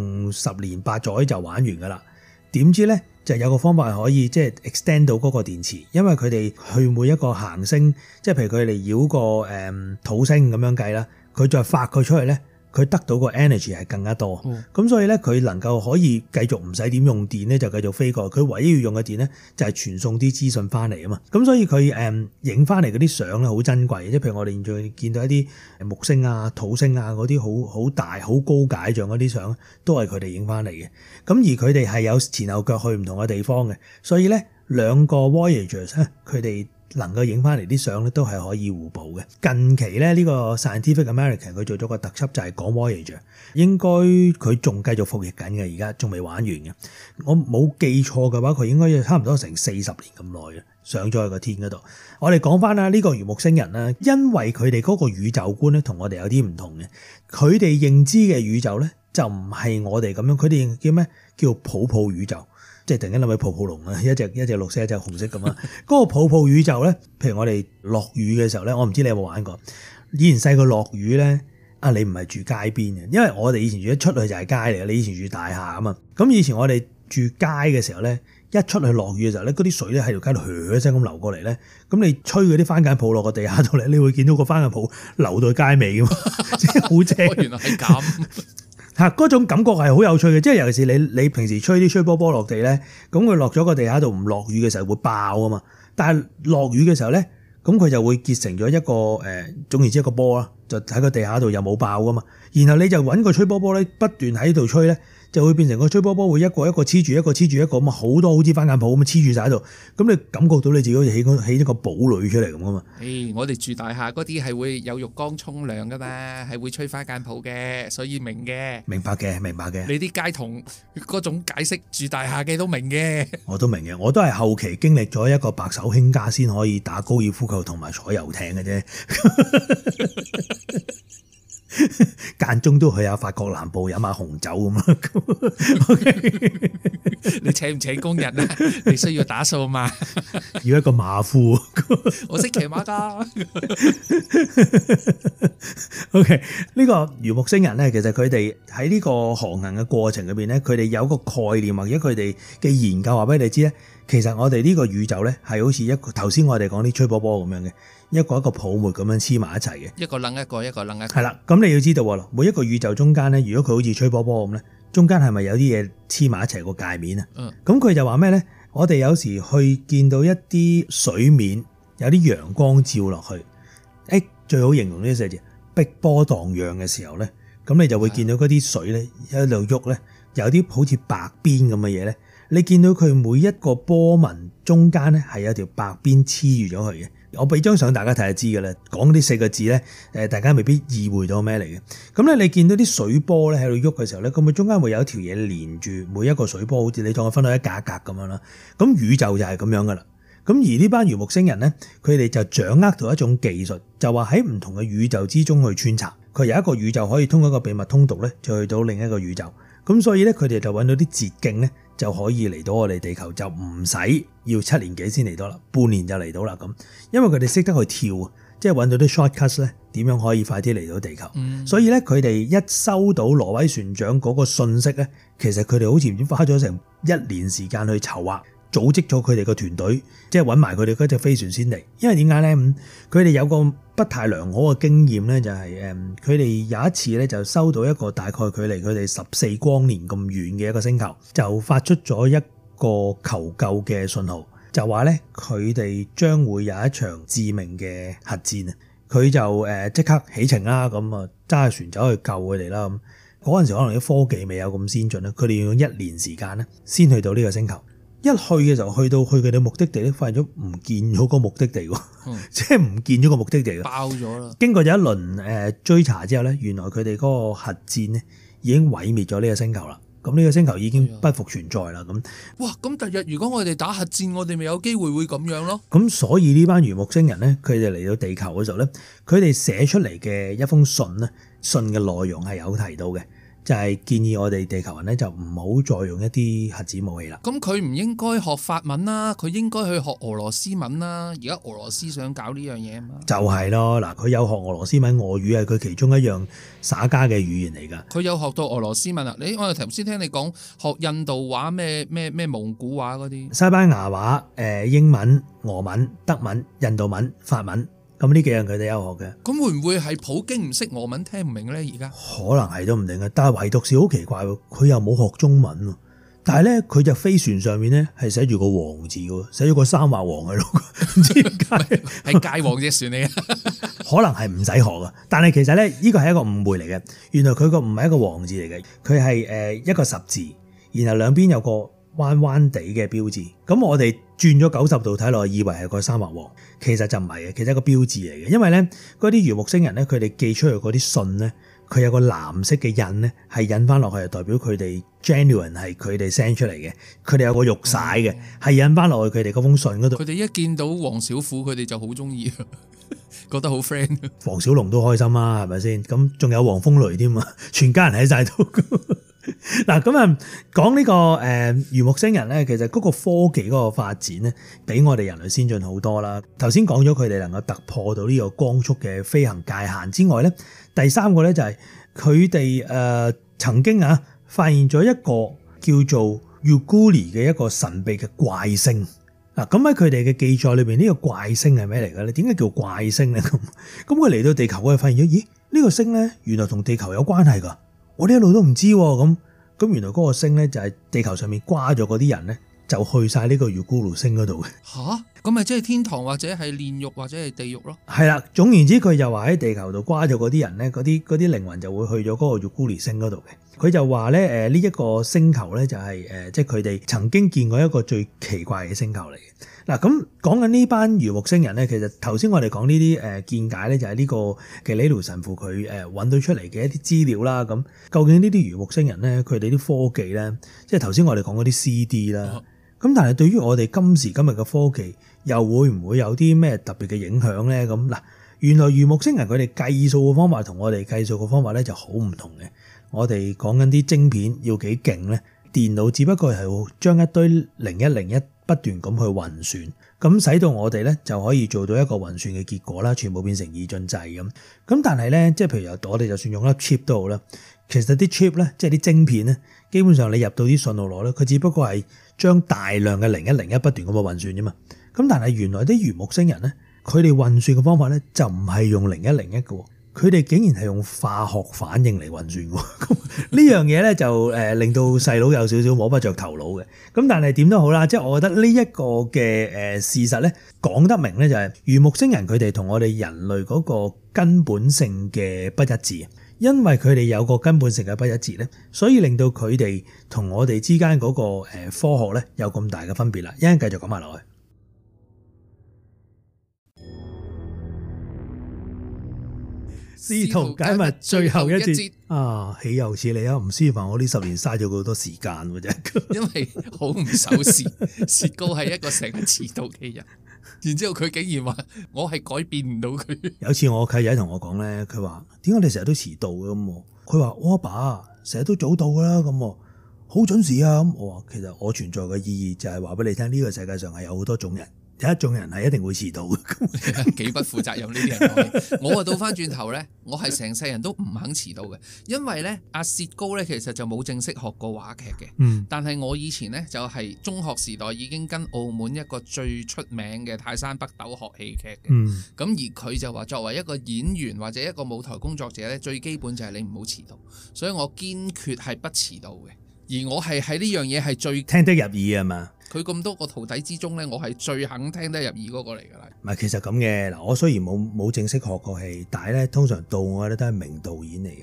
10年8載就玩完噶啦。點知咧就有個方法係可以即係 extend 到嗰個電池，因為佢哋去每一個行星，即係譬如佢哋繞個土星咁樣計啦，佢再發佢出去咧，佢得到個 energy 係更加多。咁所以咧佢能夠可以繼續唔使點用電咧，就繼續飛過。佢唯一要用嘅電咧就係傳送啲資訊翻嚟啊嘛。咁所以佢影翻嚟嗰啲相咧好珍貴，即係譬如我哋現在見到一啲木星啊、土星啊嗰啲好大、好高解像嗰啲相，都係佢哋影翻嚟嘅。咁而佢哋係有前後腳去唔同嘅地方嘅，所以咧兩個 Voyagers 咧，佢哋能夠影翻嚟啲相咧都係可以互補嘅。近期咧呢個 Scientific American 佢做咗個特輯就係講 Voyager， 應該佢仲繼續服役緊嘅，而家仲未玩完嘅。我冇記錯嘅話，佢應該要差唔多成40年咁耐嘅，上咗去個天嗰度。我哋講翻啦，呢個魚木星人啦，因為佢哋嗰個宇宙觀咧同我哋有啲唔同嘅，佢哋認知嘅宇宙咧就唔係我哋咁樣，佢哋叫咩？叫泡泡宇宙。即係突然間諗起泡泡龍啊，一隻綠色一隻紅色咁啊！嗰個泡泡宇宙咧，譬如我哋落雨嘅時候咧，我唔知你有冇玩過。以前細個落雨咧，你唔係住街邊嘅，因為我哋以前住一出去就係街嚟嘅。你以前住大廈啊嘛，咁以前我哋住街嘅時候咧，一出去落雨嘅時候咧，嗰啲水咧喺條街度噓一聲咁流過嚟咧，咁你吹嗰啲番梘泡落個地下度咧，你會見到個番梘泡流到街尾㗎嘛，即係好正。 原來係咁。 嗰種感覺係好有趣嘅，即係尤其是你平時吹啲吹波波落地咧，咁佢落咗個地下度唔落雨嘅時候會爆啊嘛，但係落雨嘅時候咧，咁佢就會結成咗一個總言之一個波啦，就喺個地下度又冇爆噶嘛，然後你就揾個吹波波咧不斷喺度吹咧，就會變成個吹波波會一個一個黐住一個黐住一個咁啊，好多好似番梘泡咁黐住晒喺度，咁你感覺到你自己好似起一個堡壘出嚟咁啊嘛。 我哋住大廈嗰啲係會有浴缸沖涼噶嘛，係會吹番梘泡嘅，所以明嘅。 明白嘅。 你啲街童嗰種解釋住大廈嘅都明嘅。 我都明嘅，我都係後期經歷咗一個白手興家先可以打高爾夫球同埋坐遊艇嘅啫。間中都去下法國南部飲下紅酒咁啊！ 你請唔請工人啊？你需要打掃嘛？ 要一個馬夫， 我識騎馬㗎。 OK， 呢個魚木星人咧，其實佢哋喺呢個航行嘅過程裏邊咧，佢哋有個概念或者佢哋嘅研究話俾你知咧，其實我哋呢個宇宙咧係好似一個頭先我哋講啲吹波波咁樣嘅。一個泡沫咁樣黐埋一齊嘅，一個楞一個，一個楞一個。 係啦，咁你要知道喎，每一個宇宙中間咧，如果佢好似吹波波咁咧，中間係咪有啲嘢黐埋一齊個界面啊？咁佢就話咩咧？我哋有時去見到一啲水面有啲陽光照落去，最好形容呢四字碧波盪漾嘅時候咧，咁你就會見到嗰啲水咧喺度喐咧，有啲好似白邊咁嘅嘢咧。你見到佢每一個波紋中間咧係有條白邊黐住咗佢嘅。我俾張相大家睇就知㗎啦。講呢4個字咧，大家未必意會到咩嚟嘅。咁咧，你見到啲水波咧喺度喐嘅時候咧，咁佢中間會有一條嘢連住每一個水波，好似你當佢分到一格一格咁樣啦。咁宇宙就係咁樣㗎啦。咁而呢班魚木星人咧，佢哋就掌握到一種技術，就話喺唔同嘅宇宙之中去穿插。佢有一個宇宙可以通過一個秘密通道咧，就去到另一個宇宙。咁所以咧，佢哋就揾到啲捷徑咧，就可以嚟到我哋地球，就唔使要7年幾先嚟到啦，半年就嚟到啦咁。因為佢哋識得去跳，即係揾到啲 shortcuts 咧，點樣可以快啲嚟到地球。所以咧，佢哋一收到挪威船長嗰個信息咧，其實佢哋好似唔知花咗成1年時間去籌劃。組織咗佢哋個團隊，即係揾埋佢哋嗰隻飛船先嚟。因為點解咧？佢哋有個不太良好嘅經驗咧，就係佢哋有一次咧就收到一個大概距離佢哋14光年咁遠嘅一個星球，就發出咗一個求救嘅信號，就話咧佢哋將會有一場致命嘅核戰啊！佢就即刻起程啦，咁啊揸船走去救佢哋啦。咁嗰陣時可能啲科技未有咁先進咧，佢哋要用1年時間咧先去到呢個星球。一去嘅時候，去到佢哋目的地咧，發現咗唔見咗個目的地喎，即係唔見咗個目的地， 爆咗啦。經過咗一輪追查之後咧，原來佢哋嗰個核戰咧已經毀滅咗呢個星球啦。咁呢個星球已經不復存在啦。咁哇，咁第日如果我哋打核戰，我哋咪有機會會咁樣咯。 咁所以呢班魚木星人咧，佢哋嚟到地球嘅時候咧，佢哋寫出嚟嘅一封信咧，信嘅內容係有提到嘅。就係建議我哋地球人咧，就唔好再用一啲核子武器啦。 咁佢唔應該學法文啦，佢應該去學俄羅斯文啦。而家俄羅斯想搞呢樣嘢啊嘛。就係咯，嗱，佢有學俄羅斯文，俄語係佢其中一樣耍家嘅語言嚟㗎。 佢有學到俄羅斯文啊！我哋頭先聽你講學印度話、咩蒙古話嗰啲， 西班牙話、英文、俄文、德文、印度文、法文。咁呢幾樣佢哋有學嘅。 咁會唔會係普京唔識俄文聽唔明咧？而家可能係都唔定嘅，但係唯獨是好奇怪喎，佢又冇學中文喎。但係咧，佢隻飛船上面咧係寫住個王字嘅，寫咗個三畫王喺度，唔知點解係界王隻船嚟嘅。 可能係唔使學嘅，但係其實咧呢個係一個誤會嚟嘅。原來佢個唔係一個王字嚟嘅，佢係一個十字，然後兩邊有個彎彎地嘅標誌。咁我哋轉咗90度睇落，以為係個三畫王，其實就唔係嘅，其實係一個標誌嚟嘅。因為咧嗰啲魚木星人咧，佢哋寄出去嗰啲信咧，佢有個藍色嘅印咧，係印翻落去，係代表佢哋 genuine 係佢哋 send 出嚟嘅。佢哋有個玉璽嘅，係印翻落去佢哋嗰封信嗰度。 佢哋一見到黃小虎，佢哋就好中意，覺得好 friend。 黃小龍都開心啦，係咪先？咁仲有黃風雷添啊，全家人喺晒度。嗱，咁啊，講呢個魚木星人咧，其實嗰個科技嗰個發展咧，比我哋人類先進好多啦。頭先講咗佢哋能夠突破到呢個光速嘅飛行界限之外咧，第三個咧就係佢哋曾經發現咗一個叫做 Yugulu 嘅一個神秘嘅怪星。嗱，咁喺佢哋嘅記載裏邊，呢個怪星係咩嚟嘅咧？點解叫怪星咧？咁佢嚟到地球，我哋發現咗，咦？呢個星咧，原來同地球有關係㗎。我哋一路都唔知喎，咁原來嗰個星咧就係地球上面瓜咗嗰啲人咧，就去晒呢個 Yugulu 星嗰度嘅。 吓？咁咪即係天堂或者係煉獄或者係地獄咯？ 係啦，總言之，佢就話喺地球度瓜咗嗰啲人咧，嗰啲靈魂就會去咗嗰個 Yugulu 星嗰度嘅。佢就話咧，呢一個星球咧就係即係佢哋曾經見過一個最奇怪嘅星球嚟嘅。嗱，咁講緊呢班魚木星人咧，其實頭先我哋講呢啲見解咧，就係呢個嘅李盧神父佢揾到出嚟嘅一啲資料啦。咁究竟呢啲魚木星人咧，佢哋啲科技咧，即係頭先我哋講嗰啲 CD 啦。咁但係對於我哋今時今日嘅科技，又會唔會有啲咩特別嘅影響咧？咁嗱，原來魚木星人佢哋計數嘅方法同我哋計數嘅方法咧就好唔同嘅。我哋講緊啲晶片要幾勁咧，電腦只不過係將一堆0101不斷咁去運算，咁使到我哋咧就可以做到一個運算嘅結果啦，全部變成二進制咁。咁但係咧，即係譬如我哋就算用粒 chip 都好啦，其實啲 chip 咧，即係啲晶片咧，基本上你入到啲信號落咧，佢只不過係將大量嘅0101不斷咁去運算啫嘛。咁但係原來啲魚木星人咧，佢哋運算嘅方法咧就唔係用0101嘅。佢哋竟然係用化學反應嚟運算喎，咁呢樣嘢咧就令到細佬有少少摸不着頭腦嘅。咁但係點都好啦，即係我覺得呢一個嘅事實咧講得明咧，就係魚木星人佢哋同我哋人類嗰個根本性嘅不一致。因為佢哋有個根本性嘅不一致咧，所以令到佢哋同我哋之間嗰個科學咧有咁大嘅分別啦。一陣繼續講埋落去。試圖解密最後一節啊，豈有此理啊！吳思凡，我呢10年嘥咗好多時間嘅啫。 因為好唔守時，薛高係一個成日遲到嘅人，然之後佢竟然話我係改變唔到佢。 有次我契仔同我講咧，佢話點解你成日都遲到嘅咁？佢話我阿爸成日都早到噶啦，咁好準時啊。咁我話其實我存在嘅意義就係話俾你聽，呢個世界上係有好多種人。有一種人係一定會遲到嘅， 幾不負責任呢啲人講嘢。我啊倒翻轉頭咧，我係成世人都唔肯遲到嘅，因為咧阿薛高咧其實就冇正式學過話劇嘅。但係我以前咧就係中學時代已經跟澳門一個最出名嘅泰山北斗學戲劇嘅。咁而佢就話作為一個演員或者一個舞台工作者咧，最基本就係你唔好遲到，所以我堅決係不遲到嘅。而我係喺呢樣嘢係最聽得入耳啊嘛。 佢咁多個徒弟之中咧，我係最肯聽得入耳嗰個嚟㗎啦。 唔係，其實咁嘅嗱，我雖然冇正式學過戲，但係咧通常到我咧都係名導演嚟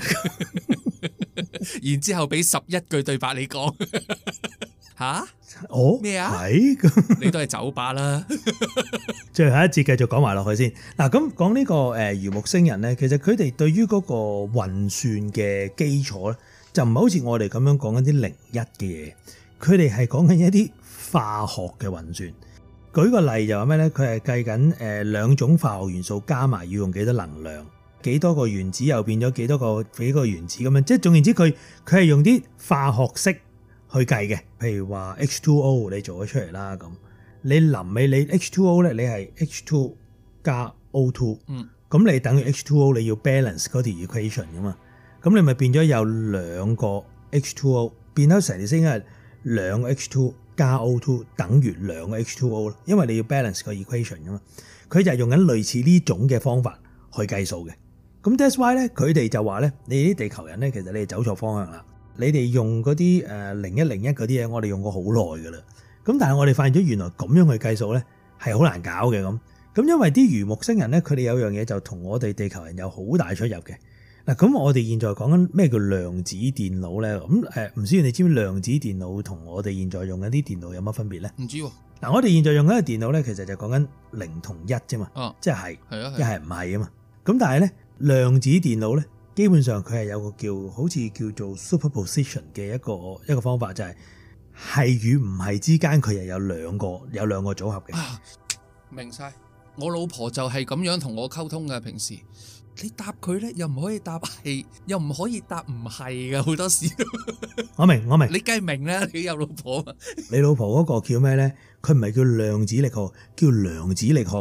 嘅。 然之後俾11句對白你講吓？ 哦咩啊？ 係你都係酒吧啦。 最後一節繼續講埋落去先嗱。咁講呢個魚木星人咧，其實佢哋對於嗰個運算嘅基礎咧，就唔係好似我哋咁樣講緊啲01嘅嘢。佢哋係講緊一啲化學嘅運算。舉個例就話咩咧？佢係計緊2種化學元素加埋要用幾多能量，幾多個原子又變咗幾個原子咁樣。即係總言之，佢係用啲化學式去計嘅。譬如話 H2O 你做咗出嚟啦，咁你臨尾你 H2O 咧，你係 H2 加 O2，咁你等於 H2O 你要 balance 嗰條 equation 噶嘛，咁你咪變咗有2個 H2O， 變咗成條星係2個 H2 加 O2 等於2個 H2O 咯，因為你要 balance 個 equation 噶嘛。佢就係用緊類似呢種嘅方法去計數嘅。咁 that's why 咧，佢哋就話咧，你啲地球人咧，其實你哋走錯方向啦。你哋用嗰啲0101嗰啲嘢，我哋用過好耐噶啦。咁但係我哋發現咗原來咁樣去計數咧係好難搞嘅咁。咁因為啲魚木星人咧，佢哋有樣嘢就同我哋地球人有好大出入嘅。嗱，咁我哋現在講緊咩叫量子電腦咧？咁唔知你知唔知量子電腦同我哋現在用緊啲電腦有乜分別咧？ 唔知喎。嗱， 我哋現在用緊嘅電腦咧，其實就講緊0同1啫嘛，即係一係唔係啊嘛。咁但係咧，量子電腦咧，基本上佢係有個好似叫做 superposition 嘅一個方法，就係與唔係之間佢又有兩個組合嘅。 明晒，我老婆就係咁樣同我溝通嘅。平時你答佢咧，又唔可以答係，又唔可以答唔係嘅，好多時。 我明，你梗係明啦，你有老婆嘛？ 你老婆嗰個叫咩咧？佢唔係叫量子力學，叫量子力學。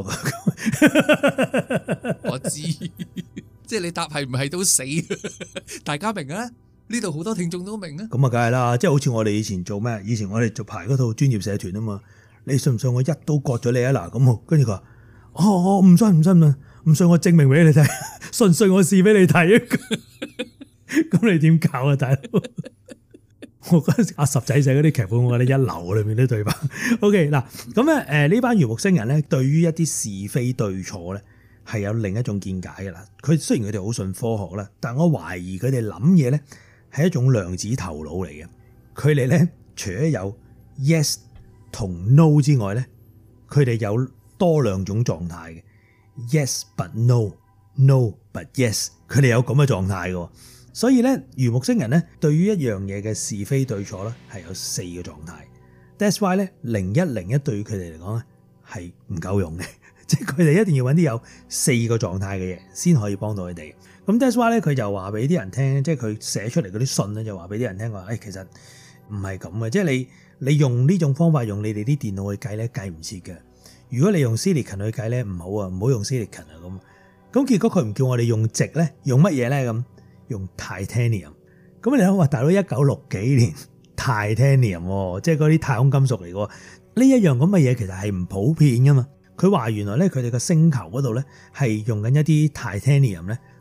我知，即係你答係唔係都死，大家明啊？呢度好多聽眾都明啊。咁啊， 梗係啦，即係好似我哋以前做咩？以前我哋做排嗰套專業社團啊嘛。你信唔信我一刀割咗你啊？嗱，咁跟住佢話：我唔信，我證明俾你睇，信唔信我試俾你睇啊？咁你點搞啊，大佬？我嗰陣時阿十仔寫嗰啲劇本，我覺得一流裏面啲對白。OK 嗱，咁咧呢班魚木星人咧，對於一啲是非對錯咧，係有另一種見解嘅啦。佢雖然佢哋好信科學啦，但我懷疑佢哋諗嘢咧係一種量子頭腦嚟嘅。佢哋咧除咗有 yes 同 no 之外咧，佢哋有多2種狀態嘅 yes but no but yes， 佢哋有咁嘅狀態嘅。所以咧，魚木星人咧對於一樣嘢嘅是非對錯咧係有4個狀態。That's why 咧0101對於佢哋嚟講咧係唔夠用嘅，即係佢哋一定要揾啲有4個狀態嘅嘢先可以幫到佢哋。咁 That's why 咧佢就話俾啲人聽，即係佢寫出嚟嗰啲信咧就話俾啲人聽話，其實唔係咁嘅，即係你用呢種方法用你哋啲電腦去計咧計唔切嘅。如果你用 silicon 去計咧唔好啊，唔好用 silicon 啊咁。咁結果佢唔叫我哋用矽咧，用乜嘢咧咁？用 titanium。咁你諗話大佬1960幾年 titanium， 即係嗰啲太空金屬嚟嘅。呢一樣咁嘅嘢其實係唔普遍噶嘛。佢話原來咧佢哋個星球嗰度咧係用緊一啲 titanium 咧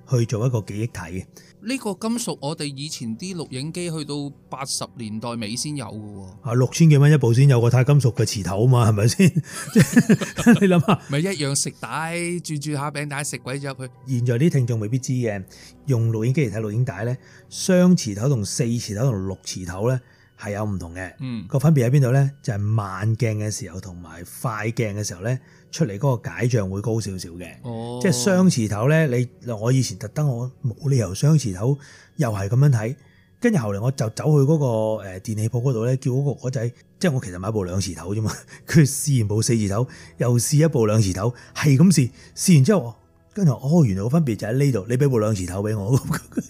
去做一個記憶體嘅。 呢個金屬我哋以前啲錄影機去到80年代尾先有嘅喎。 啊，6000幾蚊一部先有個鈦金屬嘅磁頭啊嘛，係咪先？你諗下， 咪一樣食帶轉下餅帶食鬼咗入去。 現在啲聽眾未必知嘅，用錄影機嚟睇錄影帶咧，雙磁頭同4磁頭同6磁頭咧係有唔同嘅。個分別喺邊度咧？就係慢鏡嘅時候同埋快鏡嘅時候咧，出嚟嗰個解像會高少少嘅。 哦， 即係雙磁頭咧，我以前特登我冇理由雙磁頭又係咁樣睇，跟住後嚟我就走去嗰個電器鋪嗰度咧，叫嗰個仔，即係我其實買部2磁頭啫嘛，佢試完部4磁頭，又試一部2磁頭，係咁試完之後，跟住原來個分別就喺呢度，你俾部2磁頭俾我，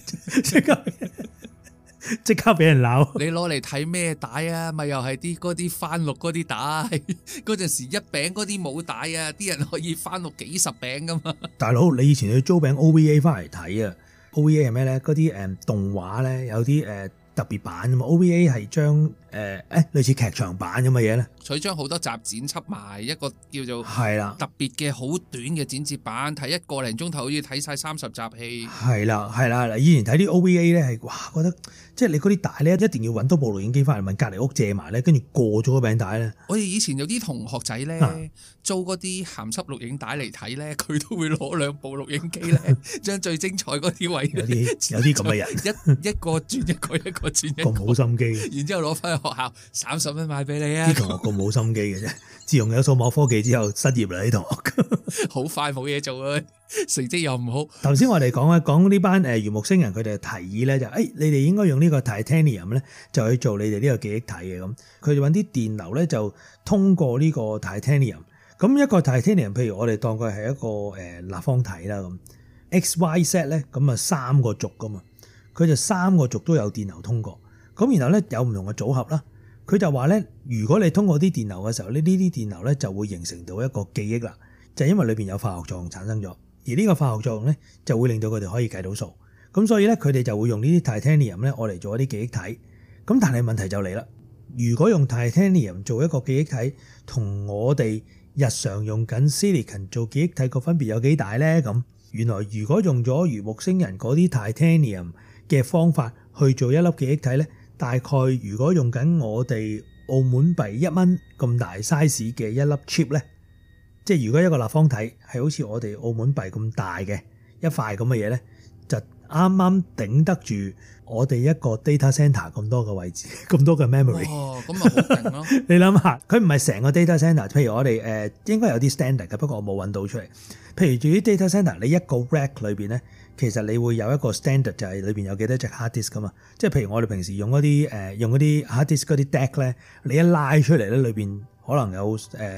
即刻俾人鬧。 你攞嚟睇咩帶啊？咪又係嗰啲翻錄嗰啲帶，嗰陣時一餅嗰啲冇帶啊，啲人可以翻錄幾十餅噶嘛。 大佬，你以前去租餅 OVA 翻嚟睇啊 ？OVA 係咩咧？嗰啲動畫咧有啲特別版啊嘛。OVA 係將類似劇場版咁嘅嘢咧。 佢將好多集剪輯埋一個叫做係啦， 特別嘅好短嘅剪接版，睇1個零鐘頭好似睇晒30集戲。 係啦，係啦。以前睇啲 OVA 咧係哇，覺得即係你嗰啲帶咧一定要揾多部錄影機翻嚟問隔離屋借埋咧，跟住過咗個餅帶咧。 我哋以前有啲同學仔咧租嗰啲鹹濕錄影帶嚟睇咧，佢都會攞2部錄影機咧，將最精彩嗰啲位有啲咁嘅人， 一個轉一個，一個轉一個， 咁冇心機， 然之後攞翻去學校30蚊買俾你啊！ 啲同學咁冇心機嘅啫。自從有數碼科技之後，失業啦啲同學， 好快冇嘢做啊，成績又唔好。 頭先我哋講呢班魚木星人，佢哋提議咧就你哋應該用呢個 Titanium 咧，就去做你哋呢個記憶體嘅咁。佢哋揾啲電流咧，就通過呢個 Titanium。咁一個 Titanium，譬如我哋當佢係一個立方體啦咁，X、Y、Z 咧，咁啊3個軸噶嘛，佢就3個軸都有電流通過。咁然後咧有唔同嘅組合啦。佢就話咧，如果你通過啲電流嘅時候，呢啲電流咧就會形成到一個記憶啦，就係因為裏邊有化學作用產生咗，而呢個化學作用咧就會令到佢哋可以計到數。咁所以咧，佢哋就會用呢啲 Titanium 咧，我嚟做一啲記憶體。咁但係問題就嚟啦，如果用 Titanium 做一個記憶體，同我哋日常用緊 Silicon 做記憶體個分別有幾大咧？咁原來如果用咗魚木星人嗰啲 Titanium 嘅方法去做一粒記憶體咧，大概如果用緊我哋澳門幣1蚊咁大 size 嘅一粒 chip 咧，即係如果一個立方體係好似我哋澳門幣咁大嘅一塊咁嘅嘢咧，就啱啱頂得住我哋一個 data center 咁多嘅位置，咁多嘅 memory。 哦，咁咪好勁咯！ 你諗下，佢唔係成個 data center，譬如我哋應該有啲 standard 嘅，不過我冇揾到出嚟。譬如至於 data center，你一個 rack 裏邊咧，其實你會有一個 standard，就係裏邊有幾多隻 hard disk 噶嘛。即係譬如我哋平時用嗰啲hard disk 嗰啲 deck 咧，你一拉出嚟咧，裏邊可能有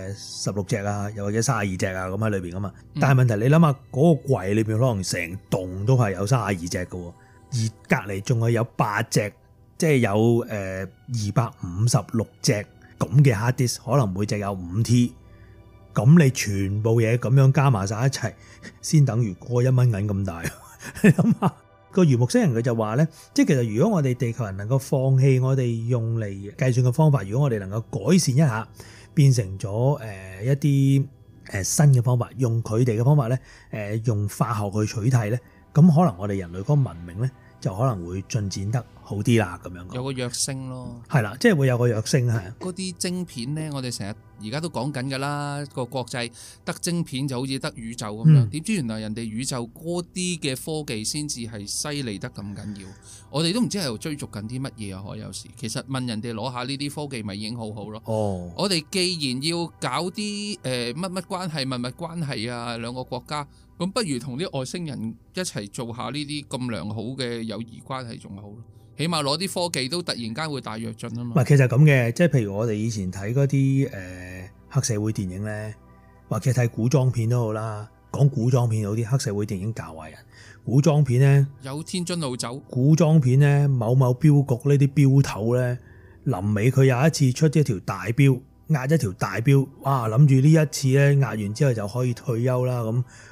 16隻啊，又或者32隻啊咁喺裏邊噶嘛。但係問題你諗下，嗰個櫃裏邊可能成棟都係有32隻嘅喎，而隔離仲係有8隻，即係有256隻咁嘅 hard disk，可能每隻有5T。咁你全部嘢咁樣加埋晒一齊，先等於過1蚊銀咁大。你諗下，個魚木星人佢就話咧，即係其實如果我哋地球人能夠放棄我哋用嚟計算嘅方法，如果我哋能夠改善一下，變成咗一啲新嘅方法，用佢哋嘅方法咧，用化學去取替咧，咁可能我哋人類嗰個文明咧就可能會進展得好啲啦，咁樣有個躍升咯。 係啦，即係會有個躍升係。 嗰啲晶片咧，我哋成日而家都講緊㗎啦，個國際得晶片就好似得宇宙咁樣，點知原來人哋宇宙嗰啲嘅科技先至係犀利得咁緊要，我哋都唔知喺度追逐緊啲乜嘢啊！可有時其實問人哋攞下呢啲科技咪已經好好咯。 哦， 我哋既然要搞啲乜乜關係、物物關係啊，兩個國家，咁不如同啲外星人一齊做下呢啲咁良好嘅友誼關係仲好咯。起碼攞啲科技都突然間會大躍進啊嘛。 唔係，其實咁嘅，即係譬如我哋以前睇嗰啲黑社會電影咧，或者睇古裝片都好啦。講古裝片有啲黑社會電影教壞人，古裝片咧有天津路走， 古裝片咧某某標局呢啲標頭咧，臨尾佢有一次出一條大標，壓一條大標，哇！諗住呢一次咧壓完之後就可以退休啦咁。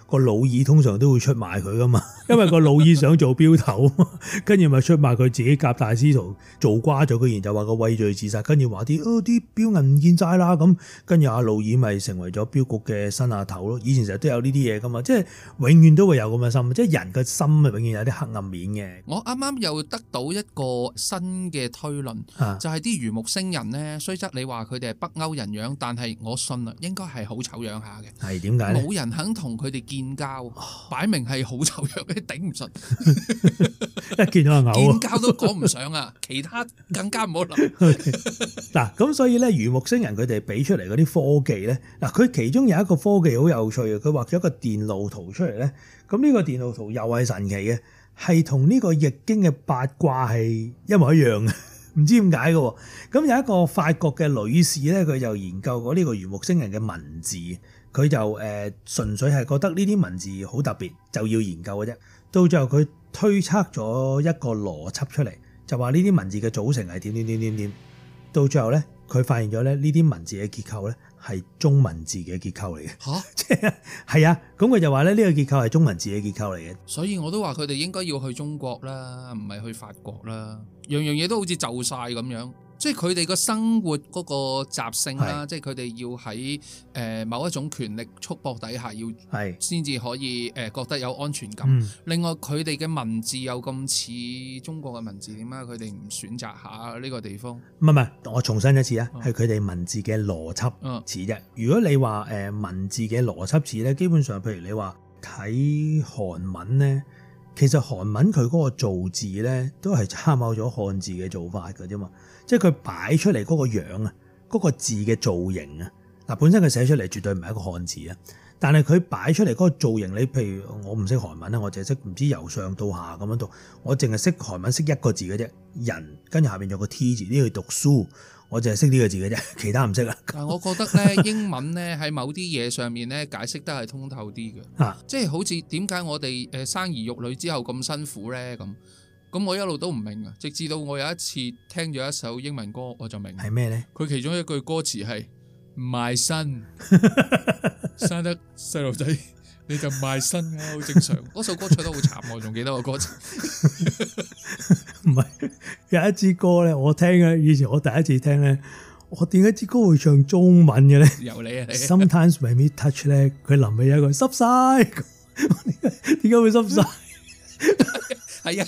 個老二通常都會出賣佢噶嘛，因為個老二想做標頭，跟住咪出賣佢自己夾大師徒做瓜咗，居然就話個畏罪自殺，跟住話啲標銀唔見晒啦咁，跟住阿老二咪成為咗標局嘅新下頭咯。以前成日都有呢啲嘢噶嘛，即係永遠都會有咁嘅心，即係人嘅心啊，永遠有啲黑暗面嘅。 我啱啱又得到一個新嘅推論，就係啲魚木星人咧，雖則你話佢哋係北歐人樣，但係我信啊，應該係好醜樣下嘅。 係點解咧？ 冇人肯同佢哋建交，擺明係好醜樣嘅，頂唔順。 一見到就嘔啊！ 建交都講唔上啊，其他更加唔好諗。 嗱，咁所以咧，魚木星人佢哋俾出嚟嗰啲科技咧，嗱，佢其中有一個科技好有趣嘅，佢畫咗一個電路圖出嚟咧。咁呢個電路圖又係神奇嘅，係同呢個易經嘅八卦係一模一樣嘅，唔知點解嘅。咁有一個法國嘅女士咧，佢就研究過呢個魚木星人嘅文字，佢就純粹係覺得呢啲文字好特別，就要研究嘅啫。到最後佢推測咗一個邏輯出嚟，就話呢啲文字嘅組成係點。到最後咧，佢發現咗咧呢啲文字嘅結構咧係中文字嘅結構嚟嘅。 嚇， 即係啊，咁佢就話咧呢個結構係中文字嘅結構嚟嘅。 所以我都話佢哋應該要去中國啦，唔係去法國啦。樣樣嘢都好似就晒咁樣。即係佢哋個生活嗰個習性啦，即係佢哋要喺某一種權力束縛底下，要先至可以覺得有安全感。另外佢哋嘅文字又咁似中國嘅文字，點解佢哋唔選擇下呢個地方？ 唔係，我重申一次啊，係佢哋文字嘅邏輯似啫。如果你話文字嘅邏輯似咧，基本上譬如你話睇韓文咧，其實韓文佢嗰個造字咧都係參考咗漢字嘅做法㗎啫嘛。即係佢擺出嚟嗰個樣啊，嗰個字嘅造型啊，嗱，本身佢寫出嚟絕對唔係一個漢字啊，但係佢擺出嚟嗰個造型，你譬如我唔識韓文啦，我淨係識唔知由上到下咁樣讀，我淨係識韓文識一個字嘅啫，人跟住下邊有個 T 字，呢個讀書，我淨係識呢個字嘅啫，其他唔識啊。 但係我覺得咧，英文咧喺某啲嘢上面咧解釋得係通透啲嘅，即係好似點解我哋生兒育女之後咁辛苦咧咁。咁我一路都唔明啊，直至到我有一次聽咗一首英文歌，我就明係咩咧？佢其中一句歌詞係賣身，生得細路仔你就賣身啊，好正常。嗰首歌唱得好慘，我仲記得個歌詞。 唔係有一支歌咧，我聽嘅以前我第一次聽咧，我點解支歌會唱中文嘅咧？ 由你啊你。 Sometimes when we touch 咧，佢臨尾有一句濕晒，點解會濕晒？ 係啊，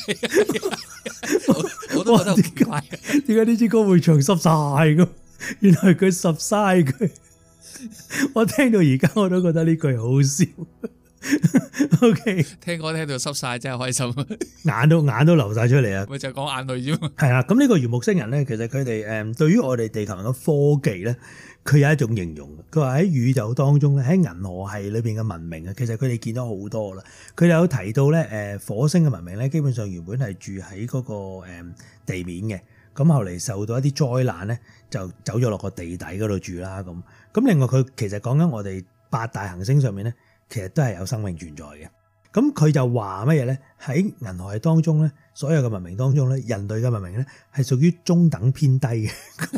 我都覺得好奇怪， 點解呢支歌會唱濕晒咁？原來佢濕晒佢，我聽到而家我都覺得呢句好笑。OK， 聽歌聽到濕晒真係開心， 眼都流晒出嚟啊！ 咪就係講眼淚啫嘛。 係啦，咁呢個魚木星人咧，其實佢哋對於我哋地球人嘅科技咧，佢有一種形容，佢話喺宇宙當中咧，喺銀河系裏邊嘅文明啊，其實佢哋見咗好多啦。佢哋有提到咧，火星嘅文明咧，基本上原本係住喺嗰個地面嘅，咁後嚟受到一啲災難咧，就走咗落個地底嗰度住啦。咁另外佢其實講緊我哋8大行星上面咧，其實都係有生命存在嘅。咁佢就話乜嘢咧？喺銀河系當中咧，所有嘅文明當中咧，人類嘅文明咧係屬於中等偏低嘅。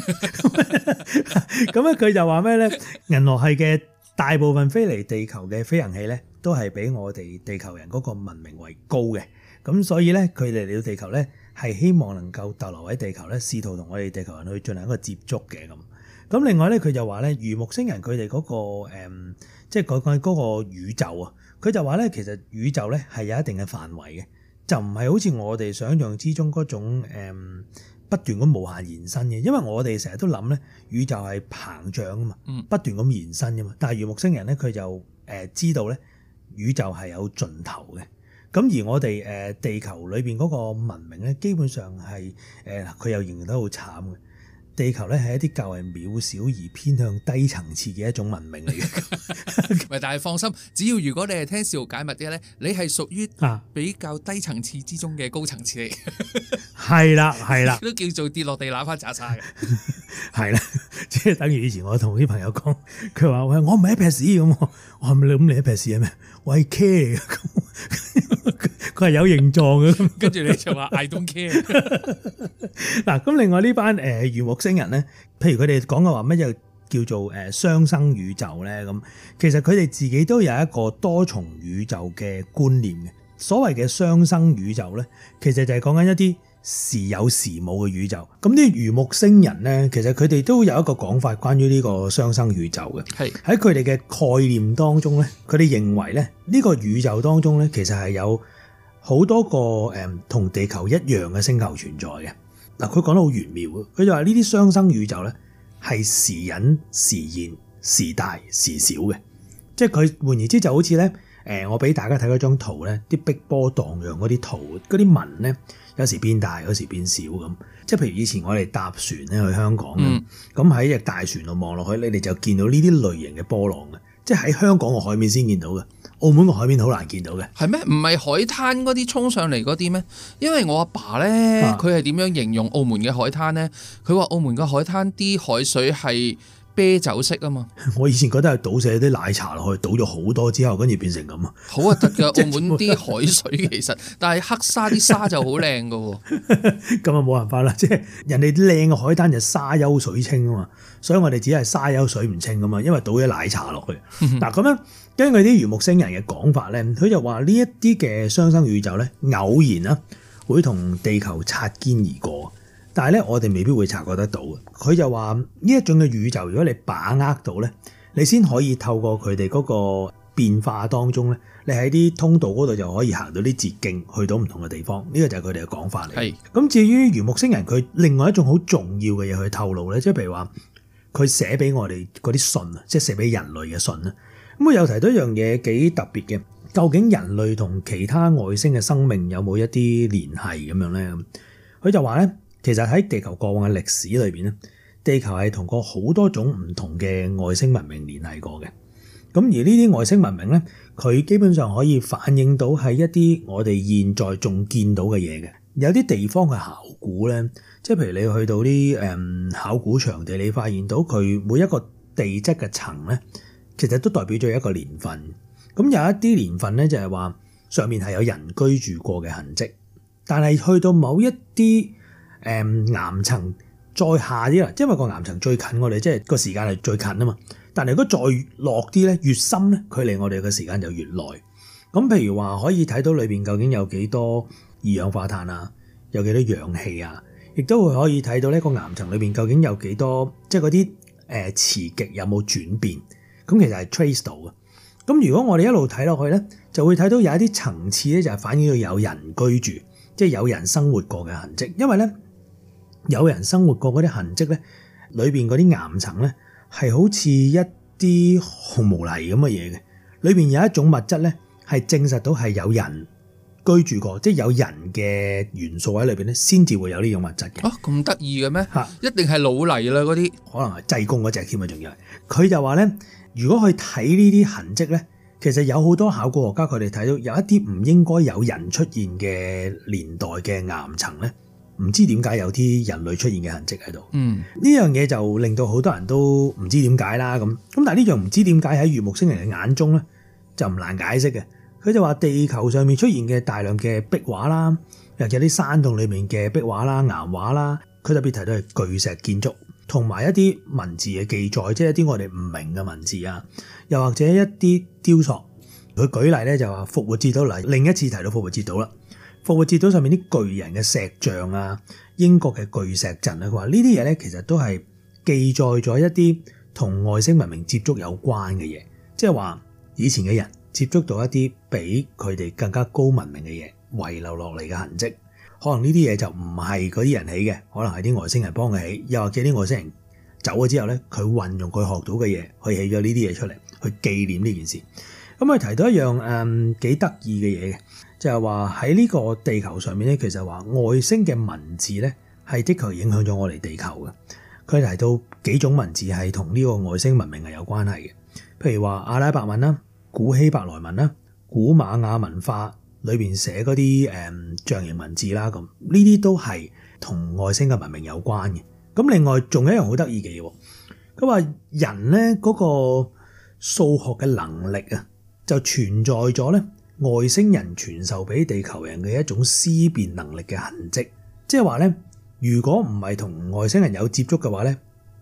咁咧佢就話咩咧？銀河系嘅大部分飛離地球嘅飛行器咧，都係比我哋地球人嗰個文明為高嘅。咁所以咧，佢哋嚟到地球咧，係希望能夠逗留喺地球咧，試圖同我哋地球人去進行一個接觸嘅咁。咁另外咧，佢就話咧，魚木星人佢哋嗰個即係講緊嗰個宇宙啊，佢就話咧，其實宇宙咧係有一定嘅範圍嘅，就唔係好似我哋想象之中嗰種不斷咁無限延伸嘅。因為我哋成日都諗咧，宇宙係膨脹啊嘛，不斷咁延伸噶嘛。但係魚木星人咧，佢就知道咧，宇宙係有盡頭嘅。咁而我哋地球裏邊嗰個文明咧，基本上係佢又形容得好慘嘅。地球咧係一啲較為渺小而偏向低層次嘅一種文明嚟嘅。 但係放心，只要如果你係聽試圖解密啲咧，你係屬於比較低層次之中嘅高層次嚟。 係啦，係啦， 都叫做跌落地揦翻渣沙嘅。係啦，即係等於以前我同啲朋友講，佢話喂，我唔係一撇屎咁，我係咪你咁你一撇屎係咩？我係 care 嘅。佢係有形狀嘅， 跟住你就話 I don't care。嗱， 咁另外呢班魚木星人咧，譬如佢哋講嘅話乜嘢叫做雙生宇宙咧？咁其實佢哋自己都有一個多重宇宙嘅觀念嘅。所謂嘅雙生宇宙咧，其實就係講緊一啲時有時冇嘅宇宙。咁啲魚木星人咧，其實佢哋都有一個講法關於呢個雙生宇宙嘅。 係喺佢哋嘅概念當中咧，佢哋認為咧呢個宇宙當中咧，其實係有好多個同地球一樣嘅星球存在嘅。嗱，佢講得好玄妙嘅，佢就話呢啲雙生宇宙咧係時隱時現、時大時小嘅，即係佢換言之就好似咧我俾大家睇嗰張圖咧，啲碧波盪漾嗰啲圖嗰啲紋咧，有時變大，有時變小咁。即係譬如以前我哋搭船咧去香港，咁喺隻大船度望落去，你哋就見到呢啲類型嘅波浪嘅，即係喺香港個海面先見到嘅。澳門個海面好難見到嘅， 係咩？唔係海灘嗰啲衝上嚟嗰啲咩？因為我阿爸咧，佢係點樣形容澳門嘅海灘咧？佢話澳門嘅海灘啲海水係啤酒色啊嘛。 我以前覺得係倒瀉啲奶茶落去，倒咗好多之後，跟住變成咁啊。 好核突㗎！澳門啲海水其實，但係黑沙啲沙就好靚㗎喎。 咁啊冇辦法啦，即係人哋靚嘅海灘就沙優水清啊嘛，所以我哋只係沙優水唔清啊嘛，因為倒咗奶茶落去。嗱咁樣。根據啲魚木星人嘅講法咧，佢就話呢一啲嘅雙生宇宙咧，偶然啦會同地球擦肩而過，但係咧我哋未必會察覺得到嘅。佢就話呢一種嘅宇宙，如果你把握到咧，你先可以透過佢哋嗰個變化當中咧，你喺啲通道嗰度就可以行到啲捷徑，去到唔同嘅地方。呢個就係佢哋嘅講法嚟。係咁，至於魚木星人佢另外一種好重要嘅嘢去透露咧，即係譬如話佢寫俾我哋嗰啲信啊，即係寫俾人類嘅信啊。咁佢又提到一樣嘢幾特別嘅，究竟人類同其他外星嘅生命有冇一啲聯繫咁樣咧？佢就話咧，其實喺地球過往嘅歷史裏邊咧，地球係同過好多種唔同嘅外星文明聯繫過嘅。咁而呢啲外星文明咧，佢基本上可以反映到係一啲我哋現在仲見到嘅嘢嘅。有啲地方嘅考古咧，即係譬如你去到啲考古場地，你發現到佢每一個地質嘅層咧，其實都代表咗一個年份，咁有一啲年份咧就係話上面係有人居住過嘅痕跡，但係去到某一啲岩層再下啲啦，因為個岩層最近我哋即係個時間係最近啊嘛，但係如果再落啲咧，越深咧，距離我哋嘅時間就越耐。咁譬如話可以睇到裏邊究竟有幾多二氧化碳啊，有幾多氧氣啊，亦都會可以睇到呢個岩層裏邊究竟有幾多，即係嗰啲磁極有冇轉變。咁其實係 trace 到嘅。咁如果我哋一路睇落去咧，就會睇到有一啲層次咧，就係反映到有人居住，即係有人生活過嘅痕跡。因為咧，有人生活過嗰啲痕跡咧，裏邊嗰啲岩層咧係好似一啲紅毛泥咁嘅嘢嘅。裏邊有一種物質咧，係證實到係有人居住過，即係有人嘅元素喺裏邊咧，先至會有呢種物質嘅。 啊，咁得意嘅咩？嚇，一定係老泥啦嗰啲， 可能係濟公嗰隻添啊，仲要係。佢就話咧，如果去睇呢啲痕跡咧，其實有好多考古學家佢哋睇到有一啲唔應該有人出現嘅年代嘅岩層咧，唔知點解有啲人類出現嘅痕跡喺度。呢樣嘢就令到好多人都唔知點解啦咁。但係呢樣唔知點解喺魚木星人嘅眼中咧，就唔難解釋嘅。佢就話地球上面出現嘅大量嘅壁畫啦，又或者啲山洞裏面嘅壁畫啦、岩畫啦，佢特別提到係巨石建築，同埋一啲文字嘅記載，即係一啲我哋唔明嘅文字啊，又或者一啲雕塑。佢舉例咧就話復活節島嚟，另一次提到復活節島啦。復活節島上面啲巨人嘅石像啊，英國嘅巨石陣啊，佢話呢啲嘢咧其實都係記載咗一啲同外星文明接觸有關嘅嘢，即係話以前嘅人接觸到一啲比佢哋更加高文明嘅嘢遺留落嚟嘅痕跡，可能呢啲嘢就唔係嗰啲人起嘅，可能係啲外星人幫佢起，又或者啲外星人走咗之後咧，佢運用佢學到嘅嘢去起咗呢啲嘢出嚟，去紀念呢件事。咁佢提到一樣幾得意嘅嘢嘅，就係話喺呢個地球上面咧，其實話外星嘅文字咧係的確影響咗我哋地球嘅。佢提到幾種文字係同呢個外星文明係有關係嘅，譬如話阿拉伯文啦、古希伯來文啦、古瑪雅文化裏邊寫嗰啲象形文字啦，咁呢啲都係同外星嘅文明有關嘅。咁另外仲有一樣好得意嘅嘢，佢話人咧嗰個數學嘅能力啊，就存在咗咧外星人傳授俾地球人嘅一種思辨能力嘅痕跡。即係話咧，如果唔係同外星人有接觸嘅話咧，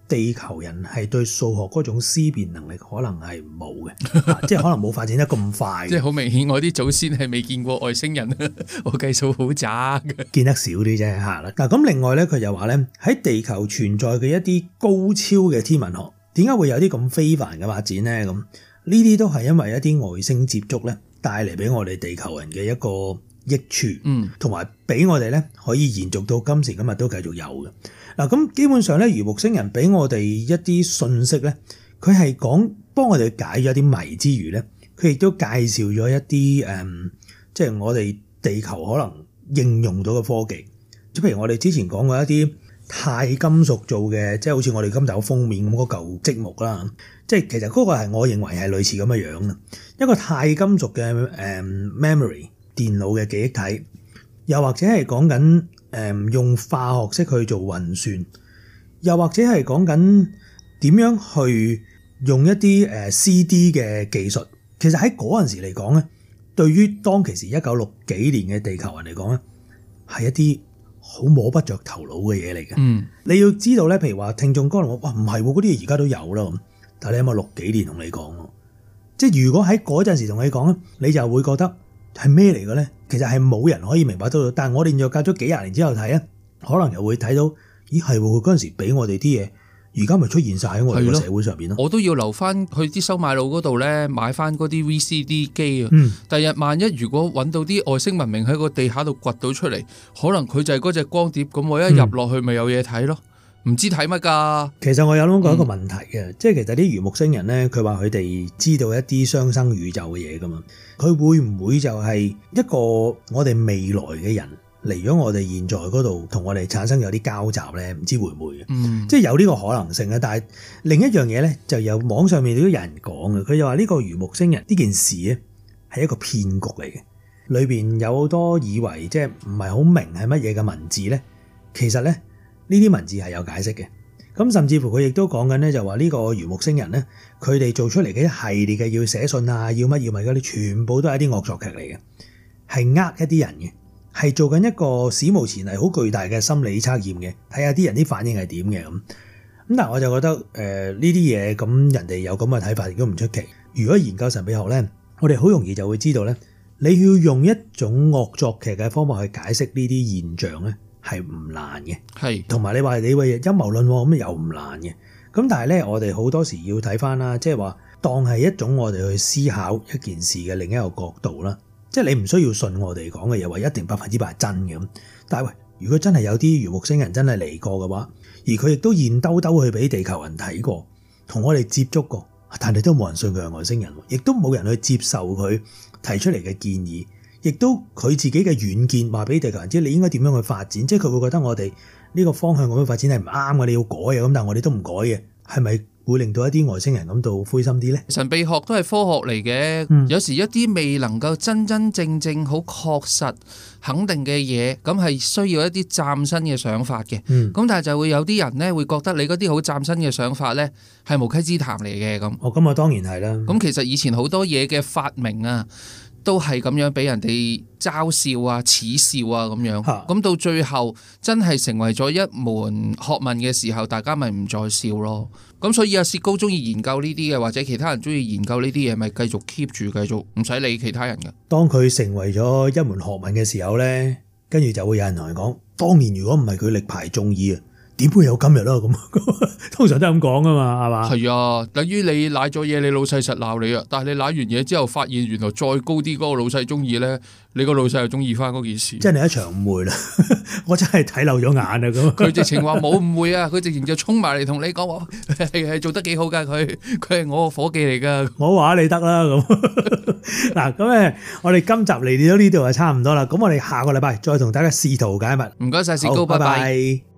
地球人係對數學嗰種思辨能力可能係冇嘅，即係可能冇發展得咁快。 即係好明顯，我啲祖先係未見過外星人，我計數好渣嘅， 見得少啲啫嚇啦。嗱咁另外咧，佢就話咧喺地球存在嘅一啲高超嘅天文學，點解會有啲咁非凡嘅發展咧？咁呢啲都係因為一啲外星接觸咧帶嚟俾我哋地球人嘅一個益處，同埋俾我哋咧可以延續到今時今日都繼續有嘅。嗱咁基本上咧，魚木星人俾我哋一啲信息咧，佢係講幫我哋解咗啲謎之餘咧，佢亦都介紹咗一啲即係我哋地球可能應用到嘅科技。即譬如我哋之前講過一啲鈦金屬做嘅，即係好似我哋今集封面咁嗰嚿積木啦。即係其實嗰個係我認為係類似咁嘅樣嘅一個鈦金屬嘅memory 電腦嘅記憶體，又或者係講緊用化學式去做運算，又或者係講緊點樣去用一啲CD 嘅技術。其實喺嗰陣時嚟講咧，對於當其時1960幾年嘅地球人嚟講咧，係一啲好摸不着頭腦嘅嘢嚟嘅。你要知道咧，譬如話聽眾可能話哇唔係喎，嗰啲嘢而家都有啦咁，但係你有冇60幾年同你講喎？即係如果喺嗰陣時同你講咧，你就會覺得係咩嚟嘅咧？其實係冇人可以明白到，但係我哋又隔咗幾廿年之後睇咧，可能又會睇到，咦係喎，佢嗰陣時俾我哋啲嘢，而家咪出現晒喺我哋個社會上邊咯。 我都要留翻去啲收買佬嗰度咧，買翻嗰啲 VCD 機啊。第日萬一如果揾到啲外星文明喺個地下度掘到出嚟，可能佢就係嗰隻光碟，咁我一入落去咪有嘢睇咯。唔知睇乜㗎？其實我有諗過一個問題嘅，即係其實啲魚木星人咧，佢話佢哋知道一啲雙生宇宙嘅嘢㗎嘛，佢會唔會就係一個我哋未來嘅人嚟咗我哋現在嗰度，同我哋產生有啲交集咧？唔知會唔會嘅？即係有呢個可能性嘅。但係另一樣嘢咧，就有網上面都有人講嘅，佢就話呢個魚木星人呢件事咧係一個騙局嚟嘅，裏邊有好多以為即係唔係好明係乜嘢嘅文字咧，其實咧。呢啲文字係有解釋嘅，咁甚至乎佢亦都講緊咧，就話呢個魚木星人咧，佢哋做出嚟嘅一系列嘅要寫信啊，要乜嗰啲，全部都係一啲惡作劇嚟嘅，係一啲人嘅，係做緊一個史無前例好巨大嘅心理測驗嘅，睇下啲人啲反應係點嘅咁。咁但係我就覺得呢啲嘢咁人哋有咁嘅睇法亦都唔出奇。如果研究神秘學咧，我哋好容易就會知道咧，你要用一種惡作劇嘅方法去解釋呢啲現象咧。係唔難嘅，係同埋你話你為陰謀論咁又唔難嘅，咁但係咧我哋好多時要睇翻啦，即係話當係一種我哋去思考一件事嘅另一個角度啦，即係你唔需要信我哋講嘅嘢話一定100%係真嘅咁，但係喂，如果真係有啲魚木星人真係嚟過嘅話，而佢亦都現兜兜去俾地球人睇過，同我哋接觸過，但係都冇人信佢係外星人，亦都冇人去接受佢提出嚟嘅建議。亦都佢自己嘅遠見話俾地球人知，你應該點樣去發展，即係佢會覺得我哋呢個方向咁樣發展係唔啱嘅，你要改啊咁，但係我哋都唔改嘅，係咪會令到一啲外星人感到灰心啲呢？神秘學都係科學嚟嘅，有時一啲未能夠真真正正好確實肯定嘅嘢，咁係需要一啲嶄新嘅想法嘅。咁但係就會有啲人呢會覺得你嗰啲好嶄新嘅想法呢係無稽之談嚟嘅咁。咁啊當然係啦。咁其實以前好多嘢嘅發明啊，都係咁樣俾人哋嘲笑啊、恥笑啊咁樣，咁到最後真係成為咗一門學問嘅時候，大家咪唔再笑咯。咁所以阿薛高中意研究呢啲嘅，或者其他人中意研究呢啲嘢，咪繼續 keep 住，繼續唔使理其他人嘅。當佢成為咗一門學問嘅時候呢，跟住就會有人同佢講，當年如果唔係佢力排眾議啊，點會有今日咯？咁通常都係咁講噶嘛，係嘛？係啊，等於你舐咗嘢，你老細實鬧你啊。但係你舐完嘢之後，發現原來再高啲嗰個老細中意咧，你個老細又中意翻嗰件事。即係你一場誤會啦，我真係睇漏咗眼啊！咁佢直情話冇誤會啊，佢直情就衝埋嚟同你講話係做得幾好噶，佢係我個伙計嚟噶。我話你得啦咁。嗱咁我哋今集嚟到呢度就差唔多啦。咁我哋下個禮拜再同大家試圖解密。唔該晒薛高，拜拜。